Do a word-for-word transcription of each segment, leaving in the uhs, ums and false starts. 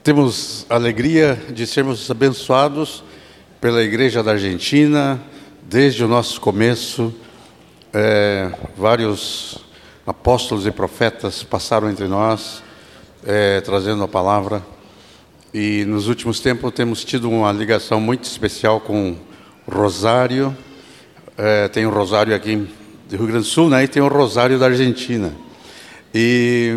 Temos a alegria de sermos abençoados pela Igreja da Argentina, desde o nosso começo. É, vários apóstolos e profetas passaram entre nós, é, trazendo a palavra. E nos últimos tempos temos tido uma ligação muito especial com o Rosário. É, tem o Rosário aqui do Rio Grande do Sul, né? E tem o Rosário da Argentina. E...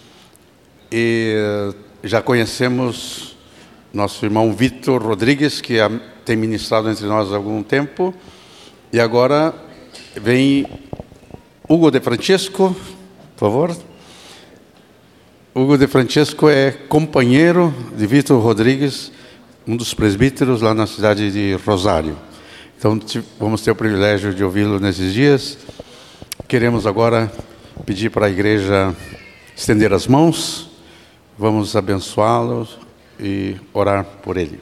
e já conhecemos nosso irmão Vitor Rodrigues, que tem ministrado entre nós há algum tempo. E agora vem Hugo de Francesco, por favor. Hugo de Francesco é companheiro de Vitor Rodrigues, um dos presbíteros lá na cidade de Rosário. Então vamos ter o privilégio de ouvi-lo nesses dias. Queremos agora pedir para a igreja estender as mãos. Vamos abençoá-lo e orar por ele.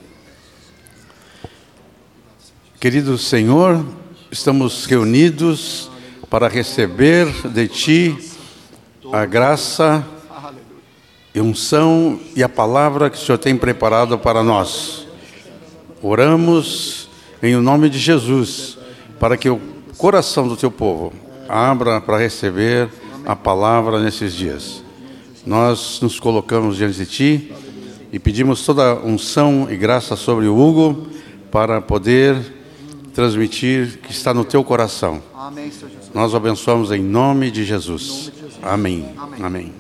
Querido Senhor, estamos reunidos para receber de Ti a graça e unção e a palavra que o Senhor tem preparado para nós. Oramos em nome de Jesus, para que o coração do Teu povo abra para receber a palavra nesses dias. Nós nos colocamos diante de Ti e pedimos toda a unção e graça sobre o Hugo para poder transmitir que está no Teu coração. Amém, Senhor Jesus. Nós o abençoamos em nome de Jesus. Amém. Amém. Amém.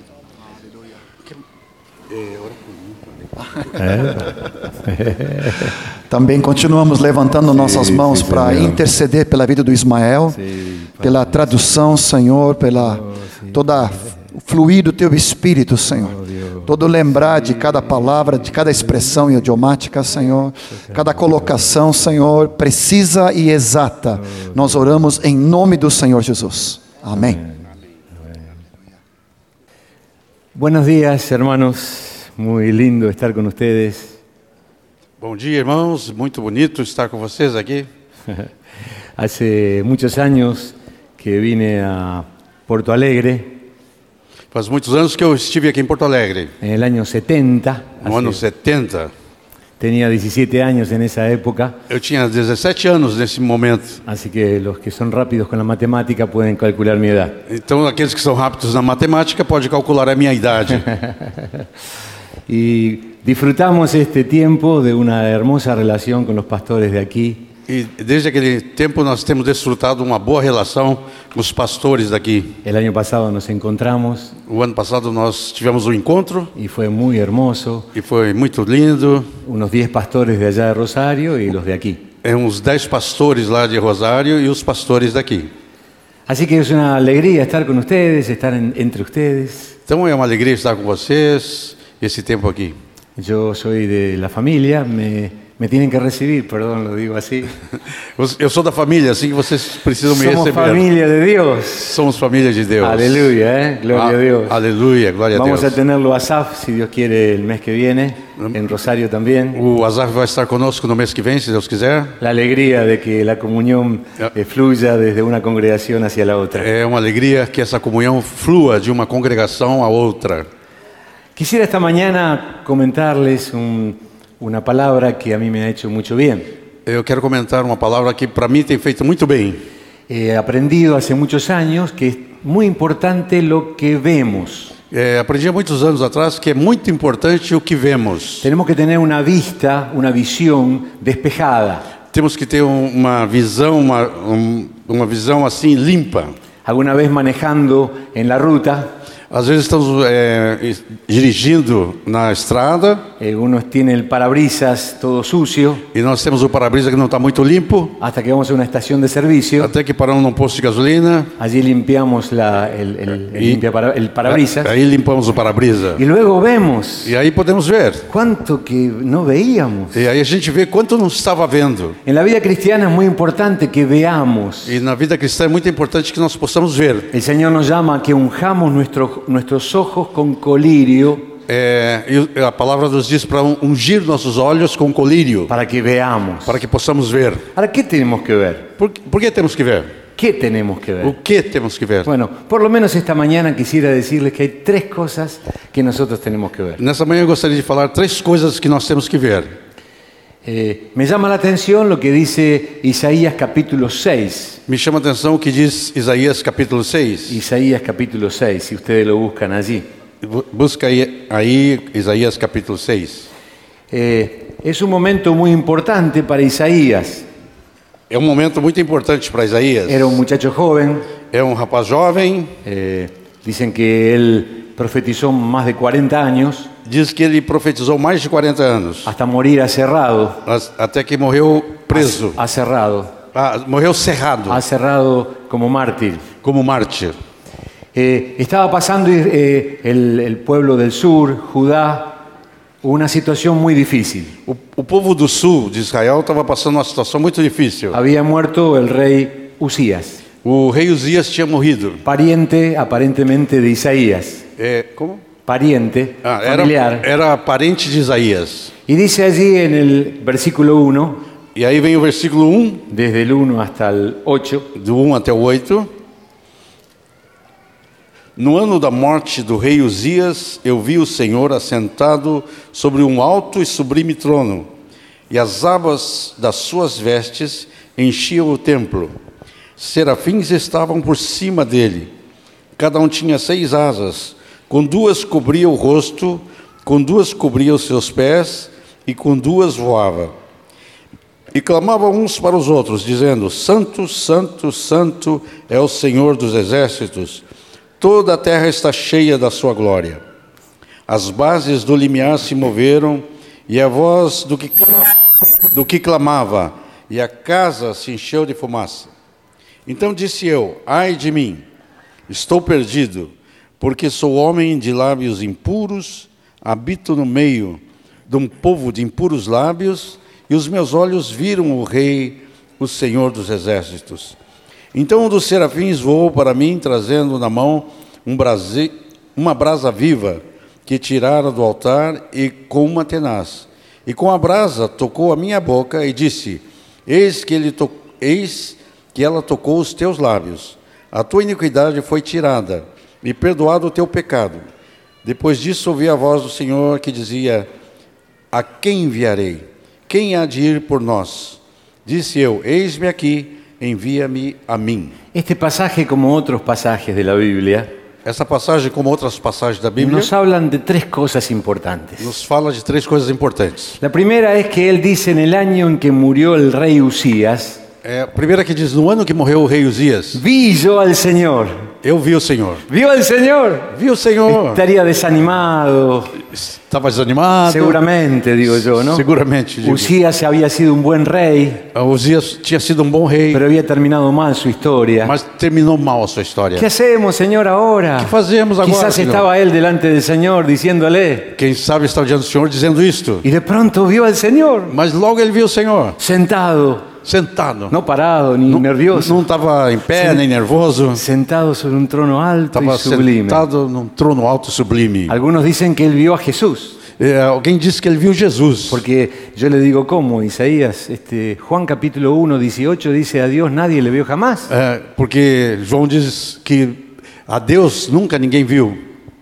É. Também continuamos levantando nossas sim, mãos para interceder pela vida do Ismael, sim, pela tradução, Senhor, pela toda o fluir do Teu Espírito, Senhor. Todo lembrar de cada palavra, de cada expressão idiomática, Senhor. Cada colocação, Senhor, precisa e exata. Nós oramos em nome do Senhor Jesus. Amém. Buenos días, hermanos. Muy lindo estar con ustedes. Bom dia, irmãos. Muito bonito estar com vocês aqui. Hace muchos años que vine a Porto Alegre. Faz muitos anos que eu estive aqui em Porto Alegre. En el año setenta. No ano setenta. Tenía diecisiete años en esa época. Eu tinha dezessete anos nesse momento. Así que los que son rápidos con la matemática pueden calcular mi edad. Então, aqueles que são rápidos na matemática podem calcular a minha idade. Y disfrutamos este tiempo de una hermosa relación con los pastores de aquí. E desde aquele tempo nós temos desfrutado uma boa relação com os pastores daqui. El año pasado nos encontramos. O ano passado nós tivemos um encontro. Y fue muy hermoso. E foi muito lindo. Unos diez pastores de allá de Rosario y los de aquí. É uns dez pastores lá de Rosário e os pastores daqui. Así que es una alegría estar con ustedes, estar en, entre ustedes. Então é uma alegria estar com vocês esse tempo aqui. Yo soy de la familia, me Me tienen que recibir, perdón, lo digo así. Eu sou da família, assim que vocês precisam me Somos receber. Somos família de Deus. Somos família de Deus. Aleluya, eh? Gloria a, a Dios. Aleluya, gloria Vamos a Deus. Vamos a tenerlo a Asaf, si Dios quiere, el mes que viene, en Rosario también. O Asaf vai estar conosco no mês que vem, se Deus quiser. La alegría de que la comunión eh, fluya desde una congregación hacia la otra. É uma alegria que essa comunhão flua de uma congregação a outra. Quisiera esta mañana comentarles un... uma palavra que a mim me ha hecho muito bem. Eu quero comentar uma palavra que para mim tem feito muito bem. He aprendido hace muchos años que es muy importante lo que vemos. É, aprendi há muitos anos atrás que é muito importante o que vemos. Tenemos que tener una vista, una visión despejada. Temos que ter uma visão, uma, um, uma visão assim limpa. Alguna vez manejando en la ruta. Às vezes estamos é, dirigindo na estrada. Algunos tienen el parabrisas todo sucio. E nós temos o para-brisa que não está muito limpo. Hasta que vamos a una estación de servicio. Até que paramos num posto de gasolina. Allí limpiamos la, el, el, el, y, limpia para, el parabrisas. Aí limpamos o para-brisa. Y luego vemos. E aí podemos ver. Quanto que no veíamos. E aí a gente vê quanto não estava vendo. En la vida cristiana es muy importante que veamos. E na vida cristã é muito importante que nós possamos ver. El Señor nos llama a que unjamos nuestro nuestros ojos con colirio. É, e a palavra nos diz para ungir nossos olhos com colírio. Para que veamos. Para que possamos ver. ¿Para qué tenemos que ver? Por, por que temos que ver? ¿Qué tenemos que ver? O que temos que ver? Bueno, por lo menos esta mañana quisiera decirles que hay tres cosas que nosotros tenemos que ver. Nessa manhã eu gostaria de falar três coisas que nós temos que ver. Eh, me llama la atención lo que dice Isaías capítulo seis. Me chama a atenção o que diz Isaías capítulo seis. Isaías capítulo seis, si ustedes lo buscan allí. Bu- Busca aí, aí Isaías capítulo seis. Eh, es un momento muy importante para Isaías. É um momento muito importante para Isaías. Era un muchacho joven. É um rapaz jovem. Eh, dicen que él profetizó más de cuarenta años, Diz que ele profetizou mais de quarenta anos, hasta morir aserrado. as- até que morreu preso. Aserrado. Ah, morreu cerrado, Aserrado como mártir. como mártir. Eh, estaba pasando eh, el, el pueblo del sur, Judá, una situación muy difícil. O, o povo do sul de Israel estava passando uma situação muito difícil. Había muerto el rey Usías, O rei Uzias tinha morrido. pariente aparentemente de Isaías, É, como? pariente, Ah, era, familiar. era parente de Isaías. Y dice allí en el versículo uno, E aí vem o versículo um, desde el uno hasta el ocho, do um até o oito. No ano da morte do rei Uzias, eu vi o Senhor assentado sobre um alto e sublime trono, e as abas das suas vestes enchiam o templo. Serafins estavam por cima dele. Cada um tinha seis asas, com duas cobria o rosto, com duas cobria os seus pés, e com duas voava. E clamavam uns para os outros, dizendo: Santo, Santo, Santo é o Senhor dos exércitos. Toda a terra está cheia da sua glória. As bases do limiar se moveram, e a voz do que, do que clamava, e a casa se encheu de fumaça. Então disse eu: Ai de mim, estou perdido, porque sou homem de lábios impuros, habito no meio de um povo de impuros lábios, e os meus olhos viram o Rei, o Senhor dos exércitos. Então um dos serafins voou para mim, trazendo na mão um brase, uma brasa viva, que tirara do altar, e com uma tenaz. E com a brasa tocou a minha boca e disse: Eis que, ele to... Eis que ela tocou os teus lábios. A tua iniquidade foi tirada, e perdoado o teu pecado. Depois disso ouvi a voz do Senhor que dizia: A quem enviarei? Quem há de ir por nós? Disse eu: Eis-me aqui, envia-me a mim. este pasaje, como otros pasajes de la Biblia, Essa passagem, como outras passagens da Bíblia, nos hablan de tres cosas importantes. nos fala de três coisas importantes. La primera es que él dice en el año en que murió el rey Usías, É, a primeira que diz: No ano que morreu o rei Uzias, vi yo al Señor. eu vi o Senhor. ¿Vio al Señor? Vi o Senhor. Estaría desanimado, Estava desanimado. seguramente, digo yo, ¿no? Seguramente, digo. Usías había sido un buen rey, Uzias tinha sido um bom rei, pero había terminado mal su historia. mas terminou mal a sua história. ¿Qué hacemos, Señor, ahora? ¿Qué fazemos agora, Quizás Señor? estaba él delante del Señor diciéndole, Quem sabe está diante do Senhor dizendo isto. y de pronto vio al Señor Mas logo ele viu o Senhor sentado, sentado. no parado ni nervioso, Não estava em pé, nem nervoso. sentado sobre un trono alto Estava y sublime. sentado num trono alto e sublime. Algunos dicen que él vio a Jesús, É, alguém disse que ele viu Jesus. porque yo le digo cómo, Isaías, este, Juan capítulo uno, dieciocho dice: a Dios nadie le vio jamás. É, porque João diz que a Deus nunca ninguém viu.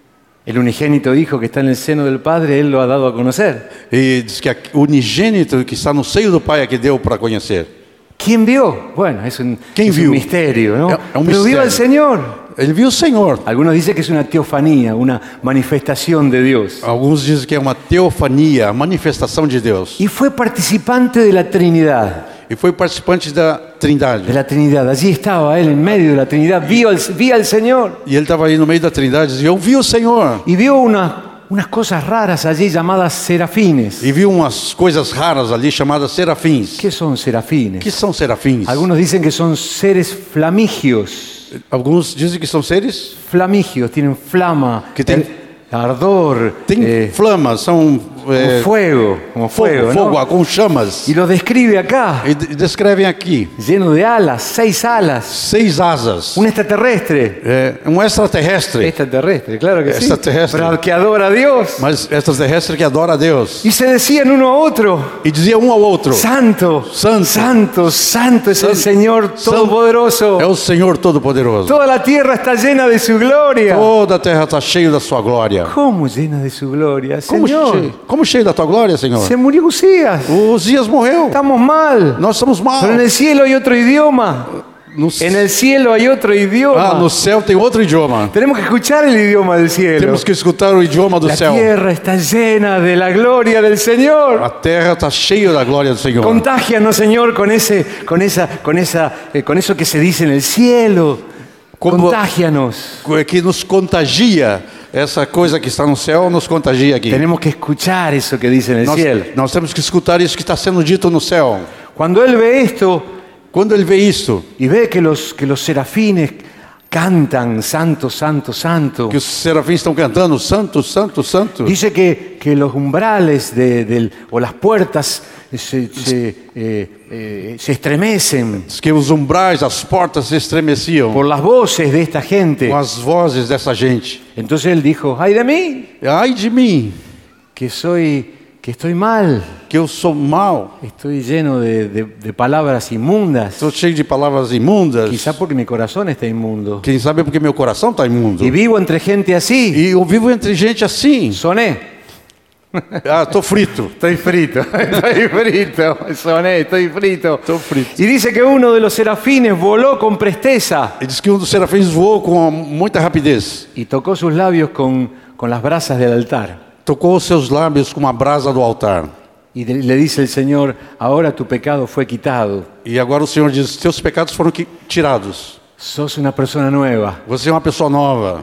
El unigénito Hijo que está en el seno del Padre, Él lo ha dado a conocer. E diz que o unigênito que está no seio do Pai é que deu para conhecer. ¿Quién vio? Bueno, es un, ¿Quién es un vio? misterio, ¿no? Es un Pero vio misterio. al Señor. Ele viu o Senhor. Algunos dicen que es una teofanía, una manifestación de Dios. Alguns dizem que é uma teofania, a manifestação de Deus. Y fue participante de la Trinidad. E foi participante da Trindade. De la Trinidad. Allí estaba Él en medio de la Trinidad. Vio al, vio al Señor. E ele estava aí no meio da Trindade e dizia: Eu vi o Senhor. Y vio una, unas cosas raras allí llamadas serafines. E viu umas coisas raras ali chamadas serafins. ¿Qué son serafines? Que são serafins? Algunos dicen que son seres flamigios. Alguns dizem que são seres Flamigios, tienen flama, Que tem- eh, ardor. tem eh, flamas, são é, fuego, como fuego, fogo, fogo, ¿no? ah, com chamas. Y lo describe acá, E de- descrevem aqui lleno de alas, seis alas, seis asas. un extraterrestre. É, um extraterrestre, Extraterrestre, claro que sí. Extraterrestre. Pero que adora a Dios. mas extraterrestre que adora a Deus. Y se decían uno a otro, E dizia um ao outro: Santo, Santo. Santo, Santo es el Santo. Señor Todopoderoso. É o Senhor Todo-Poderoso. Toda la tierra está llena de su gloria. Toda a terra está cheia da sua glória. ¿Cómo llena de su gloria, Como Señor? cheio, como cheio da tua glória, Senhor? Se murió Usías. O Uzias morreu. Estamos mal. Nós estamos mal. Pero en el cielo hay otro idioma. No, En el cielo hay otro idioma. ah, no céu tem outro idioma. Tenemos que escuchar el idioma del cielo. Temos que escutar o idioma do La céu. tierra está llena de la gloria del Señor. A terra está cheia da glória do Senhor. Contágianos, Señor, con ese, con esa, con esa, eh, con eso que se dice en el cielo. Como- Contágianos. Que nos contagia. Essa coisa que está no céu nos contagia aqui. Tenemos que escuchar eso que dice en el Nós, cielo. nós temos que escutar isso que está sendo dito no céu. Cuando Él ve esto Quando ele vê isto, y ve que los, que los serafines cantan Santo, Santo, Santo, que os serafins estão cantando Santo, Santo, Santo, dice que, que los umbrales de, del- o las puertas se, se, eh, eh, se estremecen diz que os umbrais, as portas se estremeciam por las voces de esta gente. com as vozes dessa gente. Entonces Él dijo, ay de mí, Ai de mim, que soy, que estoy mal, que eu sou mau, estoy lleno de, de- de palabras inmundas, estou cheio de palavras imundas. quizá porque mi corazón está inmundo, Quem sabe é porque meu coração está imundo. y vivo entre gente así. E eu vivo entre gente assim. Soné. Ah, estou frito. Estoy frito, estoy frito, soné, estoy frito. Estou frito. Y dice que uno de los serafines voló con presteza Ele diz que um dos serafins voou com muita rapidez. y tocó sus labios con, con las brasas del altar. Tocou os seus lábios com a brasa do altar. Y de- le dice el Señor, ahora tu pecado fue quitado, E agora o Senhor diz: teus pecados foram qui- tirados. sos una persona nueva. Você é uma pessoa nova.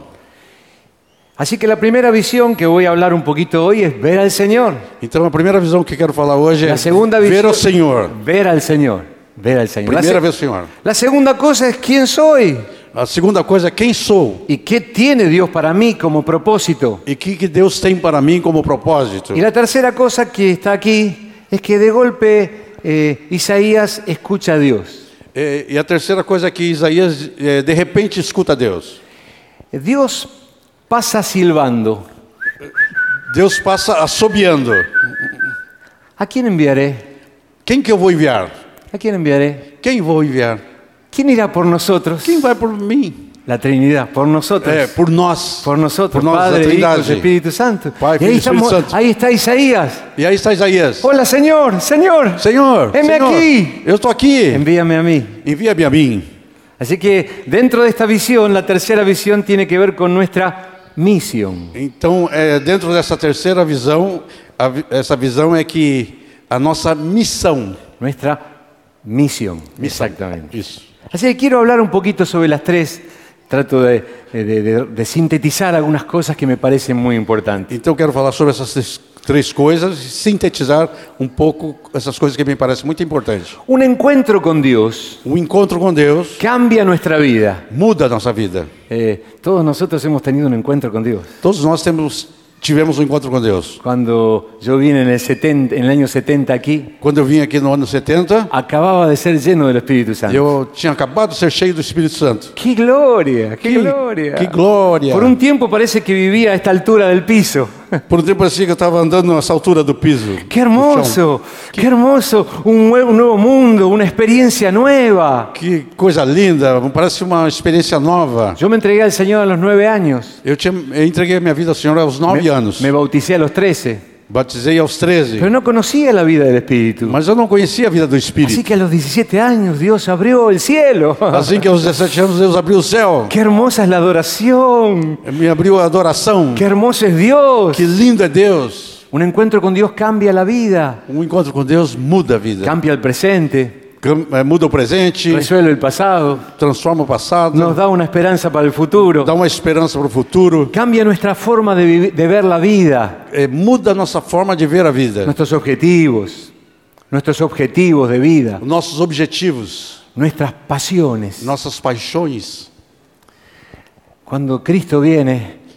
Así que la primera visión que voy a hablar un poquito hoy es ver al Señor. Então a primeira visão que eu quero falar hoje é La segunda ver visión, o Senhor. ver al Señor, ver al Señor. La, Primeira se- vez o Senhor. la segunda cosa es quién soy A segunda coisa é quem sou y qué tiene Dios para mí como propósito. e o que, que Deus tem para mim como propósito. Y la tercera cosa que está aquí es que de golpe eh, Isaías escucha a Dios. É, e a terceira coisa é que Isaías é, de repente escuta Deus. Dios pasa silbando. Deus passa assobiando. ¿A quién enviaré? Quem que eu vou enviar? ¿A quién enviaré? Quem vou enviar? ¿Quién irá por nosotros? Quem vai por mim? La Trinidad, por nosotros. É, por nós. Por nosotros, Por nós, Padre, a Hijo Trindade. y Espíritu Santo. Pai, Y ahí, Filho e Espírito estamos- Santo. ahí está Isaías. E aí está Isaías. Hola, Señor, Señor. Senhor, Heme Senhor, aqui. eu estou aqui. Envíame a mí. Envia-me a mim. Así que dentro de esta visión, la tercera visión tiene que ver con nuestra misión. Então, é, dentro dessa terceira visão, a vi- essa visão é que a nossa missão. Nuestra misión. Exactamente. Isso. Así que quiero hablar un poquito sobre las tres. Trato de, de- de- de sintetizar algunas cosas que me parecen muy importantes. Então, eu quero falar sobre essas três, três coisas e sintetizar um pouco essas coisas que me parecem muito importantes. Un encuentro con Dios O encontro com Deus cambia nuestra vida. muda a nossa vida. Eh, todos nosotros hemos tenido un encuentro con Dios. Todos nós temos, tivemos um encontro com Deus. Cuando yo vine en el, setenta, en el año setenta aquí, Quando eu vim aqui no ano setenta, acababa de ser lleno del Espíritu Santo. eu tinha acabado de ser cheio do Espírito Santo. ¡Qué gloria! ¡Qué Que- gloria! que glória! Por un tiempo parece que vivía a esta altura del piso. Por um tempo parecia que eu estava andando nessa altura do piso. ¡Qué do chão. hermoso! ¡Qué hermoso! Un nuevo, un nuevo mundo, una experiencia nueva. Que coisa linda, parece uma experiência nova. Yo me entregué al Señor a los nueve años. Eu, tinha, eu entreguei minha vida ao Senhor aos nove Me, anos. me bauticé a los trece. Batizei aos treze. Pero no conocía la vida del Espíritu. Mas eu não conhecia a vida do Así Espírito. que a los diecisiete años Dios abrió el cielo. Assim que aos dezessete anos Deus abriu o céu. ¡Qué hermosa es la adoración! Me abriu a adoração. ¡Qué hermoso es Dios! Que lindo é Deus. Un encuentro con Dios cambia la vida, Um encontro com Deus muda a vida. cambia el presente, Cam- eh, Muda o presente, resuelve el pasado, transforma o passado, nos da una esperanza para el futuro, dá uma esperança para o futuro. cambia nuestra forma de, vivi- de ver la vida, Eh, muda a nossa forma de ver a vida. nuestros objetivos, nuestros objetivos de vida, Nossos objetivos, nuestras pasiones. nossas paixões. Cuando Cristo viene,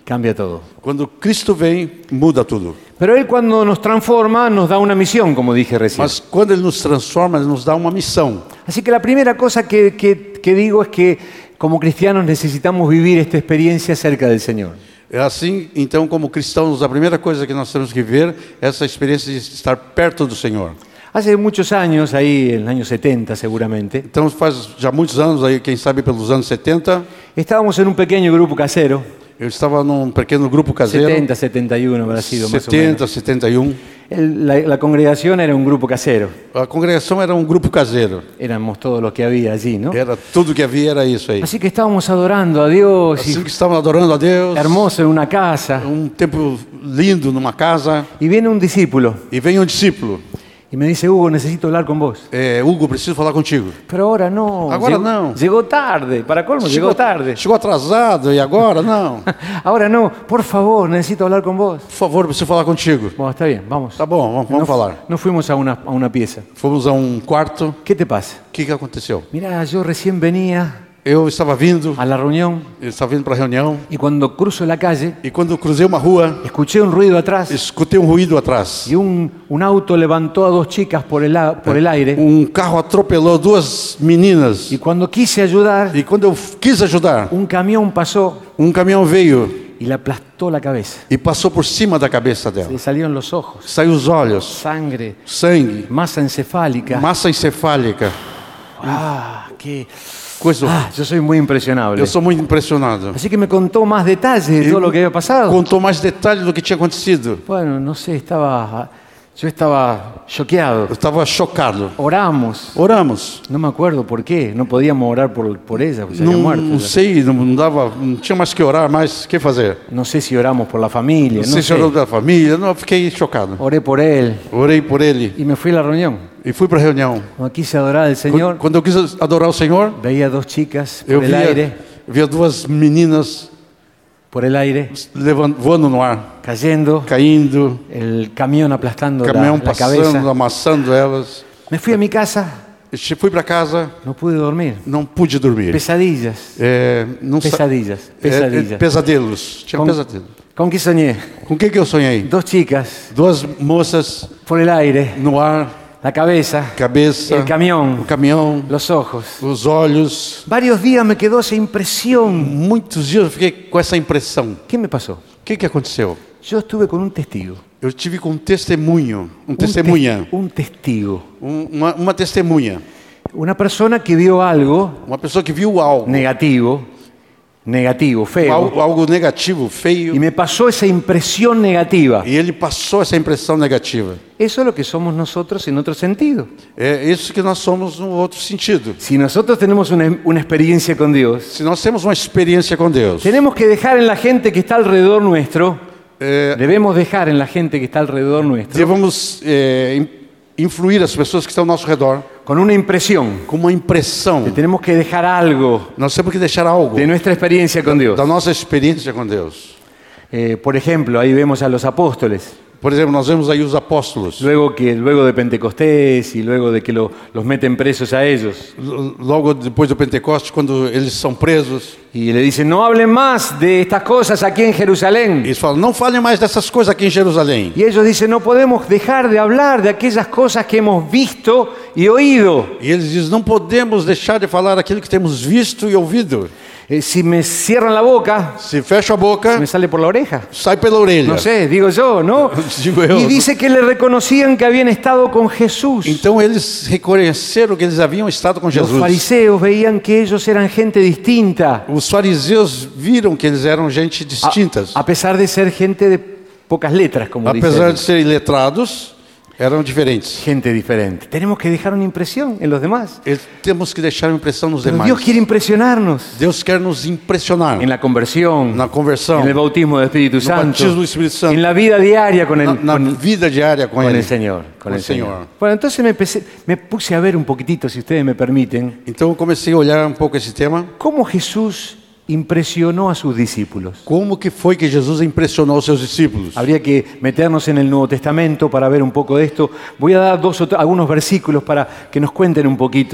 cambia todo. Quando Cristo vem, muda tudo. Pero Él cuando nos transforma nos da una misión, como dije recién. Mas quando Ele nos transforma, Ele nos dá uma missão. Así que la primera cosa que, que, que digo es que como cristianos necesitamos vivir esta experiencia cerca del Señor. É assim, então, como cristãos, a primeira coisa que nós temos que ver é essa experiência de estar perto do Senhor. Hace muchos años, ahí en el año setenta seguramente, Então, faz já muitos anos, aí, quem sabe pelos anos setenta, estábamos en un pequeño grupo casero, eu estava num pequeno grupo caseiro, setenta, setenta y uno habrá sido más o menos. setenta, setenta e um. El- la, la congregación era un grupo casero, A congregação era um grupo caseiro. éramos todos los que había allí, ¿no? Era tudo que havia, era isso aí. Así que estábamos adorando a Dios, Assim y que estavam adorando a Deus, hermoso en una casa, um tempo lindo numa casa, y viene un discípulo e vem um discípulo. y me dice, Hugo, necesito hablar con vos. É, Hugo, preciso falar contigo. Pero ahora no, Ahora llegó, no. llegó tarde, para colmo, llegó tarde. Chegou atrasado, e agora? Não. Ahora no, por favor, necesito hablar con vos. Por favor, preciso falar contigo. Bueno, está bien, vamos. Tá bom, vamos, vamos Nos- falar. Nos fuimos a una, a una pieza. Fomos a um quarto. ¿Qué te pasa? O que, que aconteceu? Mira, yo recién venía Eu estava vindo, a la reunión eu estava vindo para a reunião, y cuando cruzo la calle, e quando eu cruzei uma rua, escuché un ruido atrás escutei um ruído atrás. y un, un auto levantó a dos chicas por el, a- por el aire. Um carro atropelou duas meninas. Y cuando quise ayudar, E quando eu quis ajudar, un camión pasó um caminhão veio y le aplastó la cabeza. e passou por cima da cabeça dela. Le salieron los ojos, Saiu os olhos, sangre, sangue, masa encefálica. massa encefálica, Ah, qué... coisa. Ah, yo soy muy impresionable. Eu sou muito impressionado. Así que me contó más detalles de todo lo que había pasado. Contou mais detalhes do que tinha acontecido. Bueno, no sé, estaba... Yo estaba choqueado. Eu estava chocado. Oramos. Oramos. No me acuerdo por qué. No podíamos orar por, por ella, porque se había Não, muerto. não sei, não, não dava, não tinha mais que orar, mais o que fazer. No sé si oramos por la familia. Não No sei se sé. orou da família, não, eu fiquei chocado. Oré por él Orei por ele y me fui a la reunión. e fui para a reunião. Cuando quise adorar al Señor, Quando eu quis adorar o Senhor, veía dos chicas por eu el aire, via, via duas meninas por el aire, levando, voando no ar, cayendo, caindo, el camión aplastando la, caminhão la passando, cabeza. amassando elas. Me fui a mi casa, E fui para casa, no pude dormir. não pude dormir. Pesadillas, É, não sa- pesadillas, é, é, pesadillas. pesadelos. Tinha Com- pesadelo. ¿Con qué soñé? Com o que, que eu sonhei? Dos chicas Duas moças por el aire, no ar, la cabeza, cabeça, el camión, o caminhão, los ojos. os olhos. Varios días me quedó esa impresión. Muitos dias eu fiquei com essa impressão. ¿Qué me pasó? O que, que aconteceu? Yo estuve con un testigo. Eu tive com um testemunho, um Un, tes- testemunha, un testigo. um, uma, uma testemunha, Una persona que vio algo uma pessoa que viu algo, negativo, negativo, feo, algo, algo negativo, feio, y me pasó esa impresión negativa. e ele passou essa impressão negativa. Eso es lo que somos nosotros en otro sentido. É isso que nós somos no outro sentido. Si nosotros tenemos una, una experiencia con Dios, Se nós temos uma experiência com Deus, tenemos que dejar en la gente que está alrededor nuestro, é, debemos dejar en la gente que está alrededor nuestro, devemos é, in- influir as pessoas que estão ao nosso redor con una impresión. com uma impressão. Que tenemos que dejar algo Nós temos que deixar algo de nuestra experiencia con Dios. da nossa experiência com Deus. Eh, por ejemplo, ahí vemos a los apóstoles. Por exemplo, nós vemos aí os apóstolos. Luego, que, luego de Pentecostés y luego de que lo- los meten presos a ellos. L- Logo depois do Pentecoste, quando eles são presos, Y le dicen, no hablen más de estas cosas aquí en Jerusalén. eles falam: não falem mais dessas coisas aqui em Jerusalém. Y ellos dicen, no podemos dejar de hablar de aquellas cosas que hemos visto y oído. E eles dizem: não podemos deixar de falar aquilo que temos visto e ouvido. Eh, si me cierran la boca, Se fecha a se boca, me sale por la oreja. sai pela orelha. No sé, digo yo, ¿no? Digo eu. Y dice que le reconocían que habían estado con Jesús. Então eles reconheceram que eles haviam estado com Los Jesus. fariseos veían que ellos eran gente distinta, Os fariseus viram que eles eram gente distintas. a, a pesar de ser gente de pocas letras, como Apesar de dicen. serem letrados, eram diferentes. Gente diferente. Tenemos que dejar una impresión en los demás. Eles- temos que deixar uma impressão nos Pero demais. Dios quiere impresionarnos Deus quer nos impressionar en la conversión, na conversão, en el bautismo del Espíritu Santo, batismo del Espíritu Santo, en la vida diaria con el, na, na con- vida diária com con Ele. el Señor. Con Com el o Senhor. Señor. Bueno, entonces me, empecé- me puse a ver un poquitito, si ustedes me permiten, Então eu comecei a olhar um pouco esse tema. cómo Jesús impresionó a sus discípulos. Como que foi que Jesus impressionou os seus discípulos? Habría que meternos en el Nuevo Testamento para ver un poco de esto. Voy a dar dos o tre- algunos versículos para que nos cuenten un poquito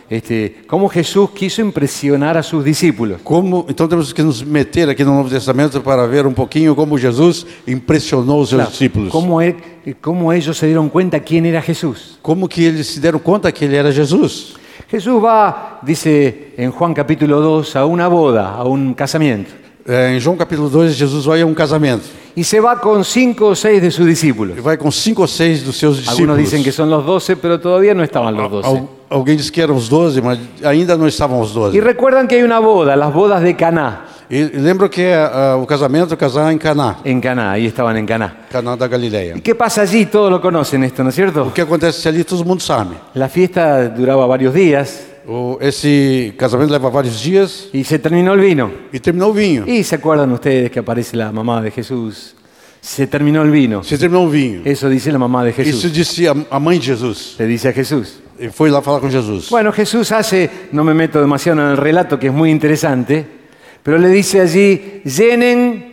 este, cómo Jesús quiso impresionar a sus discípulos. Como, então temos que nos meter aqui no Novo Testamento para ver um pouquinho como Jesus impressionou os seus Claro, discípulos. cómo, él- cómo ellos se dieron cuenta quién era Jesús. Como que eles se deram conta que ele era Jesus. Jesús va, dice en Juan capítulo dos, a una boda, a un casamiento. É, em João capítulo dois, Jesus vai a um casamento. Y se va con cinco o seis de sus discípulos. Ele vai com cinco ou seis dos seus discípulos. Algunos dicen que son los doce, pero todavía no estaban los doce. Al, alguém disse que eram os doze, mas ainda não estavam os doze. Y recuerdan que hay una boda, las bodas de Caná. E lembro que uh, o casamento, casar em Caná, En Caná, ahí estaban en Caná. Caná da Galileia. ¿Y qué pasa allí? Todos lo conocen esto, ¿no es O cierto? que acontece ali, todo mundo sabe. La fiesta duraba varios días O, esse casamento leva vários dias y se terminó el vino. e terminou o vinho. Y se acuerdan ustedes que aparece la mamá de Jesús. Se terminó el vino. Se terminou o vinho. Eso dice la mamá de Isso Jesús. disse a, a mãe de Jesus. Le dice a Jesús. Ele foi lá falar com Jesus. Bueno, Jesús hace, no me meto demasiado en el relato que es muy interesante, pero le dice allí, llenen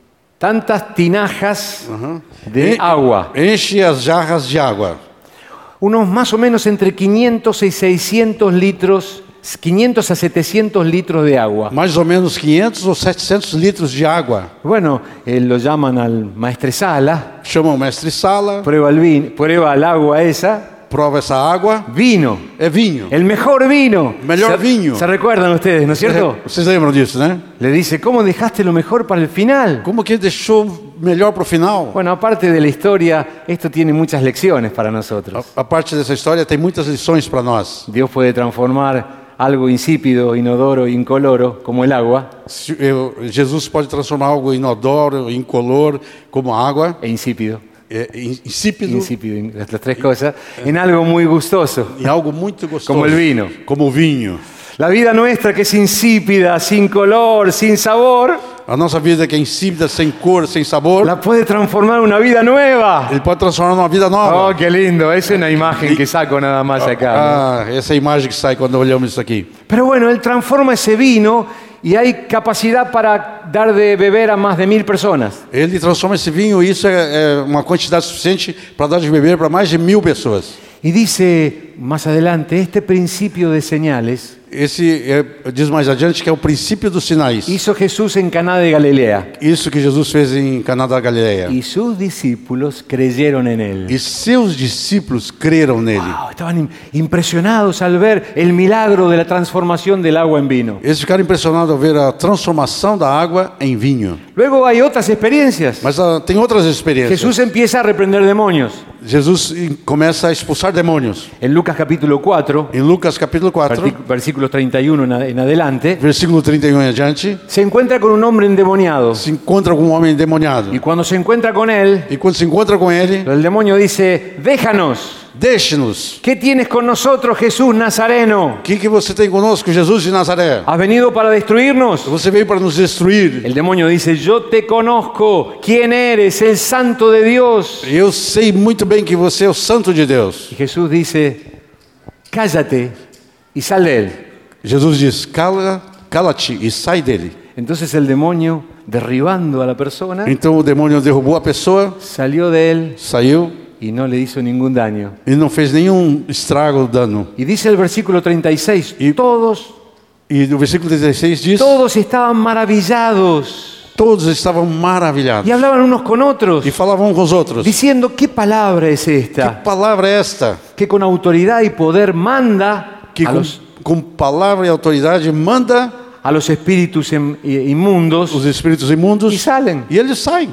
tantas tinajas de En- agua. Enche as jarras de água. Unos más o menos entre quinientos y seiscientos litros, quinientos a setecientos litros de agua. Mais ou menos quinhentos ou setecentos litros de água. Bueno, eh, lo llaman al maestresala, Chama o mestre Sala, prueba el, vin, prueba el agua esa, prova essa água. vino, É vinho. el mejor vino. Mejor se, vino. ¿Se recuerdan ustedes, no es cierto? Vocês lembram disso, né? Le dice, ¿cómo dejaste lo mejor para el final? Como que deixou melhor para o final? Bueno, aparte de la historia, esto tiene muchas lecciones para nosotros. A parte dessa história tem muitas lições para nós. Dios puede transformar algo insípido, inodoro, incoloro, como el agua, Se- eu- Jesus pode transformar algo inodoro, incolor, como água, e insípido, é, in- insípido, insípido, in- las tres cosas, en algo muy gustoso. em algo muito gostoso. Como el vino. Como o vinho. La vida nuestra que es insípida, sin color, sin sabor, A nossa vida que é insípida, sem cor, sem sabor, la puede transformar en una vida nueva. ele pode transformar numa vida nova. Oh, qué lindo, es una imagen que saco nada más acá. ¿no? Ah, essa é a imagem que sai quando olhamos isso aqui. Pero bueno, Él transforma ese vino y hay capacidad para dar de beber a más de mil personas. Ele transforma esse vinho e isso é, é uma quantidade suficiente para dar de beber para mais de mil pessoas. Y dice más adelante, este principio de señales Esse é, diz mais adiante que é o princípio dos sinais. hizo Jesús en Caná de Galilea. Isso que Jesus fez em Caná da Galileia. Y sus discípulos creyeron en Él. E seus discípulos creram nele. Wow, estaban im- impresionados al ver el milagro de la transformación del agua en vino. Eles ficaram impressionados ao ver a transformação da água em vinho. Luego hay otras experiencias. Mas ah, tem outras experiências. Jesús empieza a reprender demonios. Jesus eh, começa a expulsar demônios. En Lucas capítulo cuatro, Em Lucas capítulo quatro, verti- versículo treinta y uno en, a- en adelante, versículo trinta e um em adiante, se encuentra con un hombre endemoniado. se encontra com um homem endemoniado. Y cuando se encuentra con él, E quando se encontra com ele, el demonio dice, déjanos. deixe-nos. ¿Qué tienes con nosotros, Jesús Nazareno? O que, que você tem conosco, Jesus de Nazaré? ¿Has venido para destruirnos? Você veio para nos destruir. El demonio dice, yo te conozco. ¿Quién eres? El santo de Dios. Eu sei muito bem que você é o Santo de Deus. Y Jesús dice, cállate y sal de él. Jesus diz, cala, cala-te e sai dele. Entonces el demonio, derribando a la persona, Então o demônio derrubou a pessoa, salió de él saiu y no le hizo ningún daño. e não fez nenhum estrago, dano. Y dice el versículo treinta y seis, Y- todos, E no versículo dezesseis diz, todos estaban maravillados todos estavam maravilhados y hablaban unos con otros, e falavam uns com os outros. diciendo, ¿qué palabra es Que esta? palavra é esta? Que con autoridad y poder manda Que a com, los, com palavra e autoridade manda a los espíritus em- inmundos os espíritos imundos y salen. e eles saem.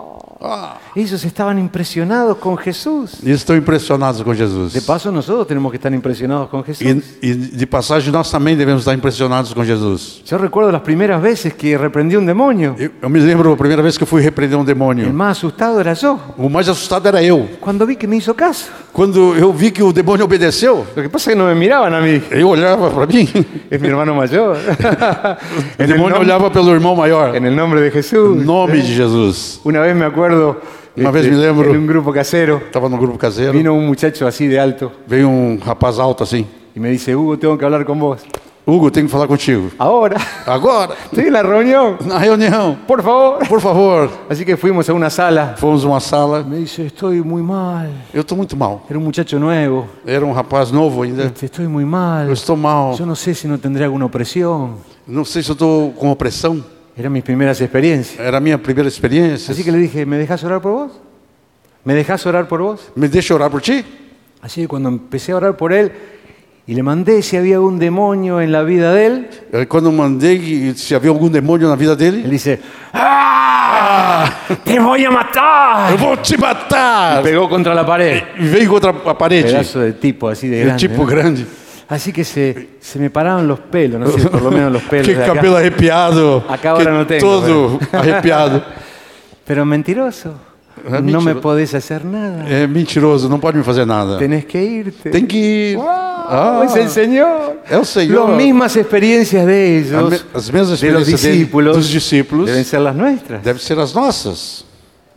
Ellos estaban impresionados con Jesús. Eles estão impressionados com Jesus. De paso, nosotros tenemos que estar impresionados con Jesús. E, e de passagem, nós também devemos estar impressionados com Jesus. Yo recuerdo las primeras veces que reprendí un demonio. Eu, eu me lembro a primeira vez que eu fui repreender um El demônio. más asustado era yo, O mais assustado era eu. cuando vi que me hizo caso. Quando eu vi que o demônio obedeceu, Lo que pasa es que no me miraban a mí. eu olhava para mim. Es mi hermano mayor. O en, el demônio nom- olhava pelo irmão maior. en el nombre de Em Jesús. nome de Jesus. Una vez me acuerdo, Una este, vez me lembro. en un grupo casero, Estava no grupo caseiro. vino un muchacho así de alto Veio um rapaz alto assim. y me dice, Hugo, tengo que hablar con vos. Hugo, tenho que falar contigo. Ahora. Agora, Estoy en la reunión. na reunião. Por favor. Por favor. Así que fuimos a una sala. Fomos numa sala. Me dice, estoy muy mal. Eu estou muito mal. Era un muchacho nuevo. Era um rapaz novo ainda. Estoy muy mal. Eu estou mal. Yo no sé si no tendré alguna opresión. Não sei se eu estou com opressão. Eran mis primeras experiencias. Era a minha primeira experiência. Así que le dije, ¿me dejas orar por vos? ¿Me dejas orar por vos? Me deixa orar por ti? Así que cuando empecé a orar por él y le mandé si había algún demonio en la vida de él, Quando eu mandei se havia algum demônio na vida él dele, dice, ¡ah! ¡Te voy a matar! eu vou te matar. Pegó contra la pared. E veio contra a parede. Pedazo de tipo así de É grande. tipo ¿no? grande. Así que se, se me paraban los pelos, no sé, por lo menos los pelos Que de acá. cabelo arrepiado. Acá ahora que no tengo, todo arrepiado. Pero mentiroso, Ah, no mentiroso. me podés hacer nada. É mentiroso, não pode me fazer nada. Tenés que irte. Tem que ir. ¡Wow! Ah, Es el Señor. é o Senhor. Las mismas experiencias de A ellos, me- As mesmas de los experiências dele, discípulos, dos discípulos, deben ser las nuestras. devem ser as nossas.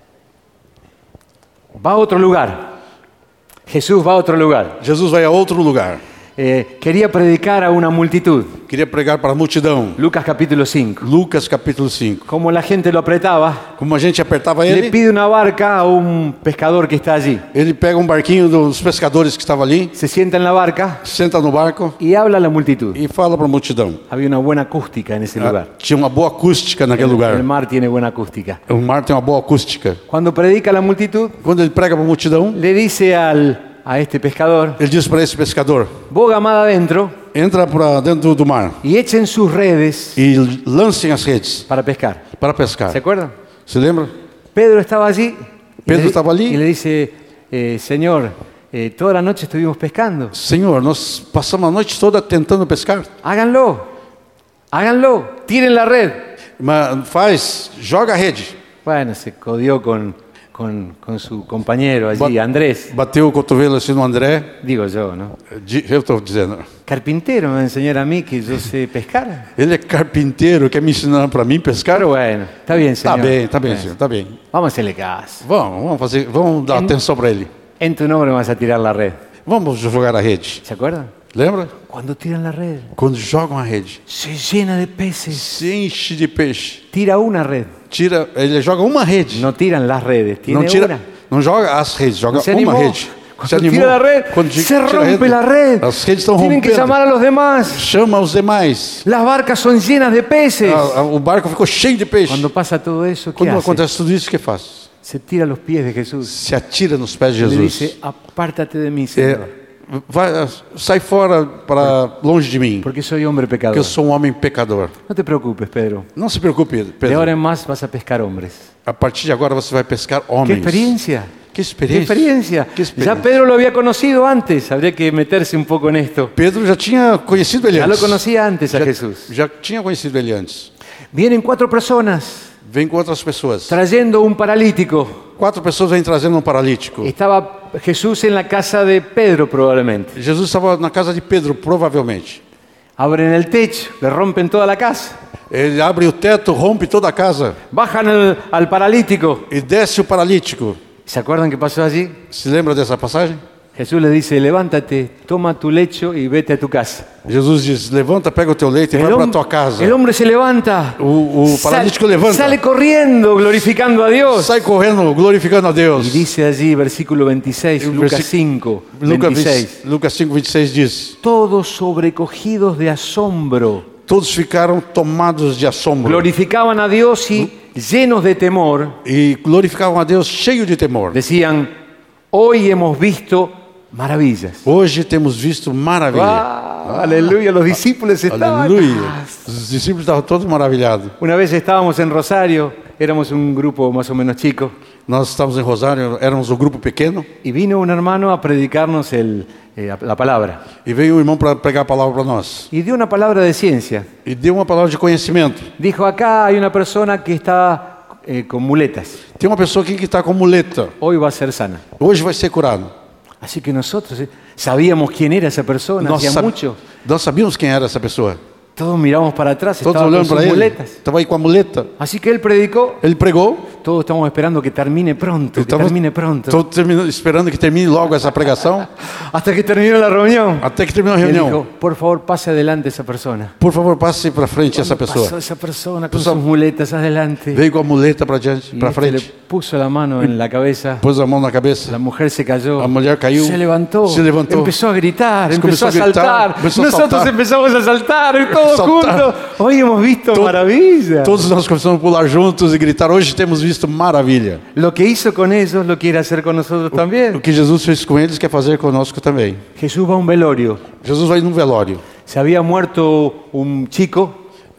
Va a otro lugar. Jesús va a otro lugar. Jesus vai a outro lugar. Eh, quería predicar a una multitud. Queria pregar para a multidão. Lucas capítulo cinco. Lucas capítulo cinco. Como la gente lo apretaba, Como a gente apertava le ele, pide una barca a un pescador que está allí. ele pega um barquinho dos pescadores que estava ali, Se sienta en la barca senta no barco y habla a la multitud. e fala para a multidão. Había una buena acústica en ese lugar. Ah, tinha uma boa acústica naquele El lugar. mar tiene buena acústica. O mar tem uma boa acústica. Cuando predica a la multitud, Quando ele prega para a multidão, le dice al, a este pescador, ele diz para esse pescador: boga mar adentro entra para dentro do mar y echen sus redes e lancem as redes para pescar. para pescar. ¿Se acuerdan? Se lembra? Pedro estaba allí. y Pedro le- estaba allí. Y le dice, eh, Señor, eh, toda la noche estuvimos pescando. Senhor, nós passamos a noite toda tentando pescar. Háganlo. Háganlo. Tiren la red. Mas faz, joga a rede. Bueno, se codió con, con, con su compañero allí, Ba- Andrés. Bateu o cotovelo assim no André. Digo yo, ¿no? Di- Eu estou dizendo. Carpintero me va a enseñar a mí que yo sé pescar. Ele é carpinteiro, quer me ensinar para mim pescar? Pero bueno, está bien, Tá señor. bem, tá bem, Bueno, senhor, tá bem. Vamos a hacerle caso. Vamos, vamos fazer, vamos dar atenção para ele. En tu nombre vas a tirar la red. Vamos jogar a rede. ¿Se acuerdan? Lembra? Cuando tiran la red, Quando jogam a rede, se llena de peces. se enche de peixe. Tira una red. Tira, ele joga uma rede. No tiran las redes, tiene Não tira, una. não joga as redes, joga No se uma animó. rede. Cuando tira la red, Quando se tira a rompe la red. As redes estão Tienen que rompendo. llamar a los demás. Chama os demais. Las barcas son llenas de peces. A- a- o barco ficou cheio de peixe. Cuando pasa todo eso, ¿qué Quando hace? acontece tudo isso, o que faz? Se tira a los pies de Jesús. Se atira nos pés de Le Jesus. dice, apártate de mí, É, Señor, vai, sai fora para longe de mim, porque soy hombre porque pecador. eu sou um homem pecador. No te preocupes, Pedro. Não se preocupe, De Pedro. ahora en más vas a pescar hombres. A partir de agora você vai pescar ¡Qué homens. experiencia! Que ¡Qué experiência. experiencia! Que Ya experiência. Pedro lo había conocido antes. Habría que meterse un poco en esto. Pedro já tinha conhecido ele Ya lo antes. conocía antes a Já, Jesús. já tinha conhecido ele antes. Vienen cuatro personas Vem com outras pessoas. trayendo un paralítico. Quatro pessoas vêm trazendo um paralítico. Estaba Jesús en la casa de Pedro probablemente. Jesus estava na casa de Pedro, provavelmente. Abren el techo, le rompen toda la casa. Ele abre o teto, rompe toda a casa Bajan al, al paralítico. e desce o paralítico. ¿Se acuerdan qué pasó allí? Se lembra dessa passagem? Jesús le dice, levántate, toma tu lecho y vete a tu casa. Jesus diz: levanta, pega o teu leito e vai para a tua casa. el hombre se levanta. O, o paralítico levanta. Sale corriendo, glorificando a Dios. Sai correndo, glorificando a Deus. Y dice allí, versículo veintiséis, El Lucas versi- cinco, Lucas, veintiséis. Lucas cinco, vinte e seis diz: Todos sobrecogidos de asombro, todos ficaram tomados de assombro glorificaban a Dios y llenos de temor, e glorificavam a Deus cheio de temor. decían, hoy hemos visto maravillas. Hoje temos visto maravilha. ¡Ah! Aleluya, los discípulos estaban. Aleluia. Os discípulos estavam todos maravilhados. Una vez estábamos en Rosario, éramos un grupo más o menos chico, Nós estávamos em Rosário, éramos um grupo pequeno, y vino un hermano a predicarnos el, eh, la palabra. e veio um irmão para pregar a palavra para nós. Y dio una palabra de ciencia. E deu uma palavra de conhecimento. Dijo, acá hay una persona que está eh, con muletas. Tem uma pessoa aqui que está com muleta. Hoy va a ser sana. Hoje vai ser curado. Así que nosotros eh, sabíamos quién era esa persona, Nós, hacía sab- mucho. nós sabíamos quem era essa pessoa. Todos miramos para atrás, Todos estaba con olhando sus para ele. muletas. Estava aí com a muleta. Así que él predicó. Ele pregou. Todos estamos esperando que termine pronto, que Estamos termine pronto. todos terminando- esperando que termine logo essa pregação. Hasta que terminó la reunión. Até que terminou a Y él reunião. dijo, por favor, pase adelante esa persona. Por favor, passe para frente essa Pasó pessoa. esa persona con Pasó. sus muletas adelante. Veio com a muleta para diante, Y para este le frente. puso la mano en la cabeza. Pôs a mão na cabeça. La mujer se cayó. La mujer cayó. Se levantó. Se levantó. Empezó a gritar. Comenzó Empezó a a gritar, saltar. empezó a Nosotros saltar. empezamos a saltar. Todos Saltar. juntos. Hoy hemos visto To- maravilla. Todos nós começamos a pular juntos e gritar. Hoje temos visto maravilha. Lo que hizo con ellos lo quiere hacer con nosotros O también. que Jesus fez com eles quer fazer conosco também. Jesús va a un velorio. Jesus vai num velório. Se había muerto un chico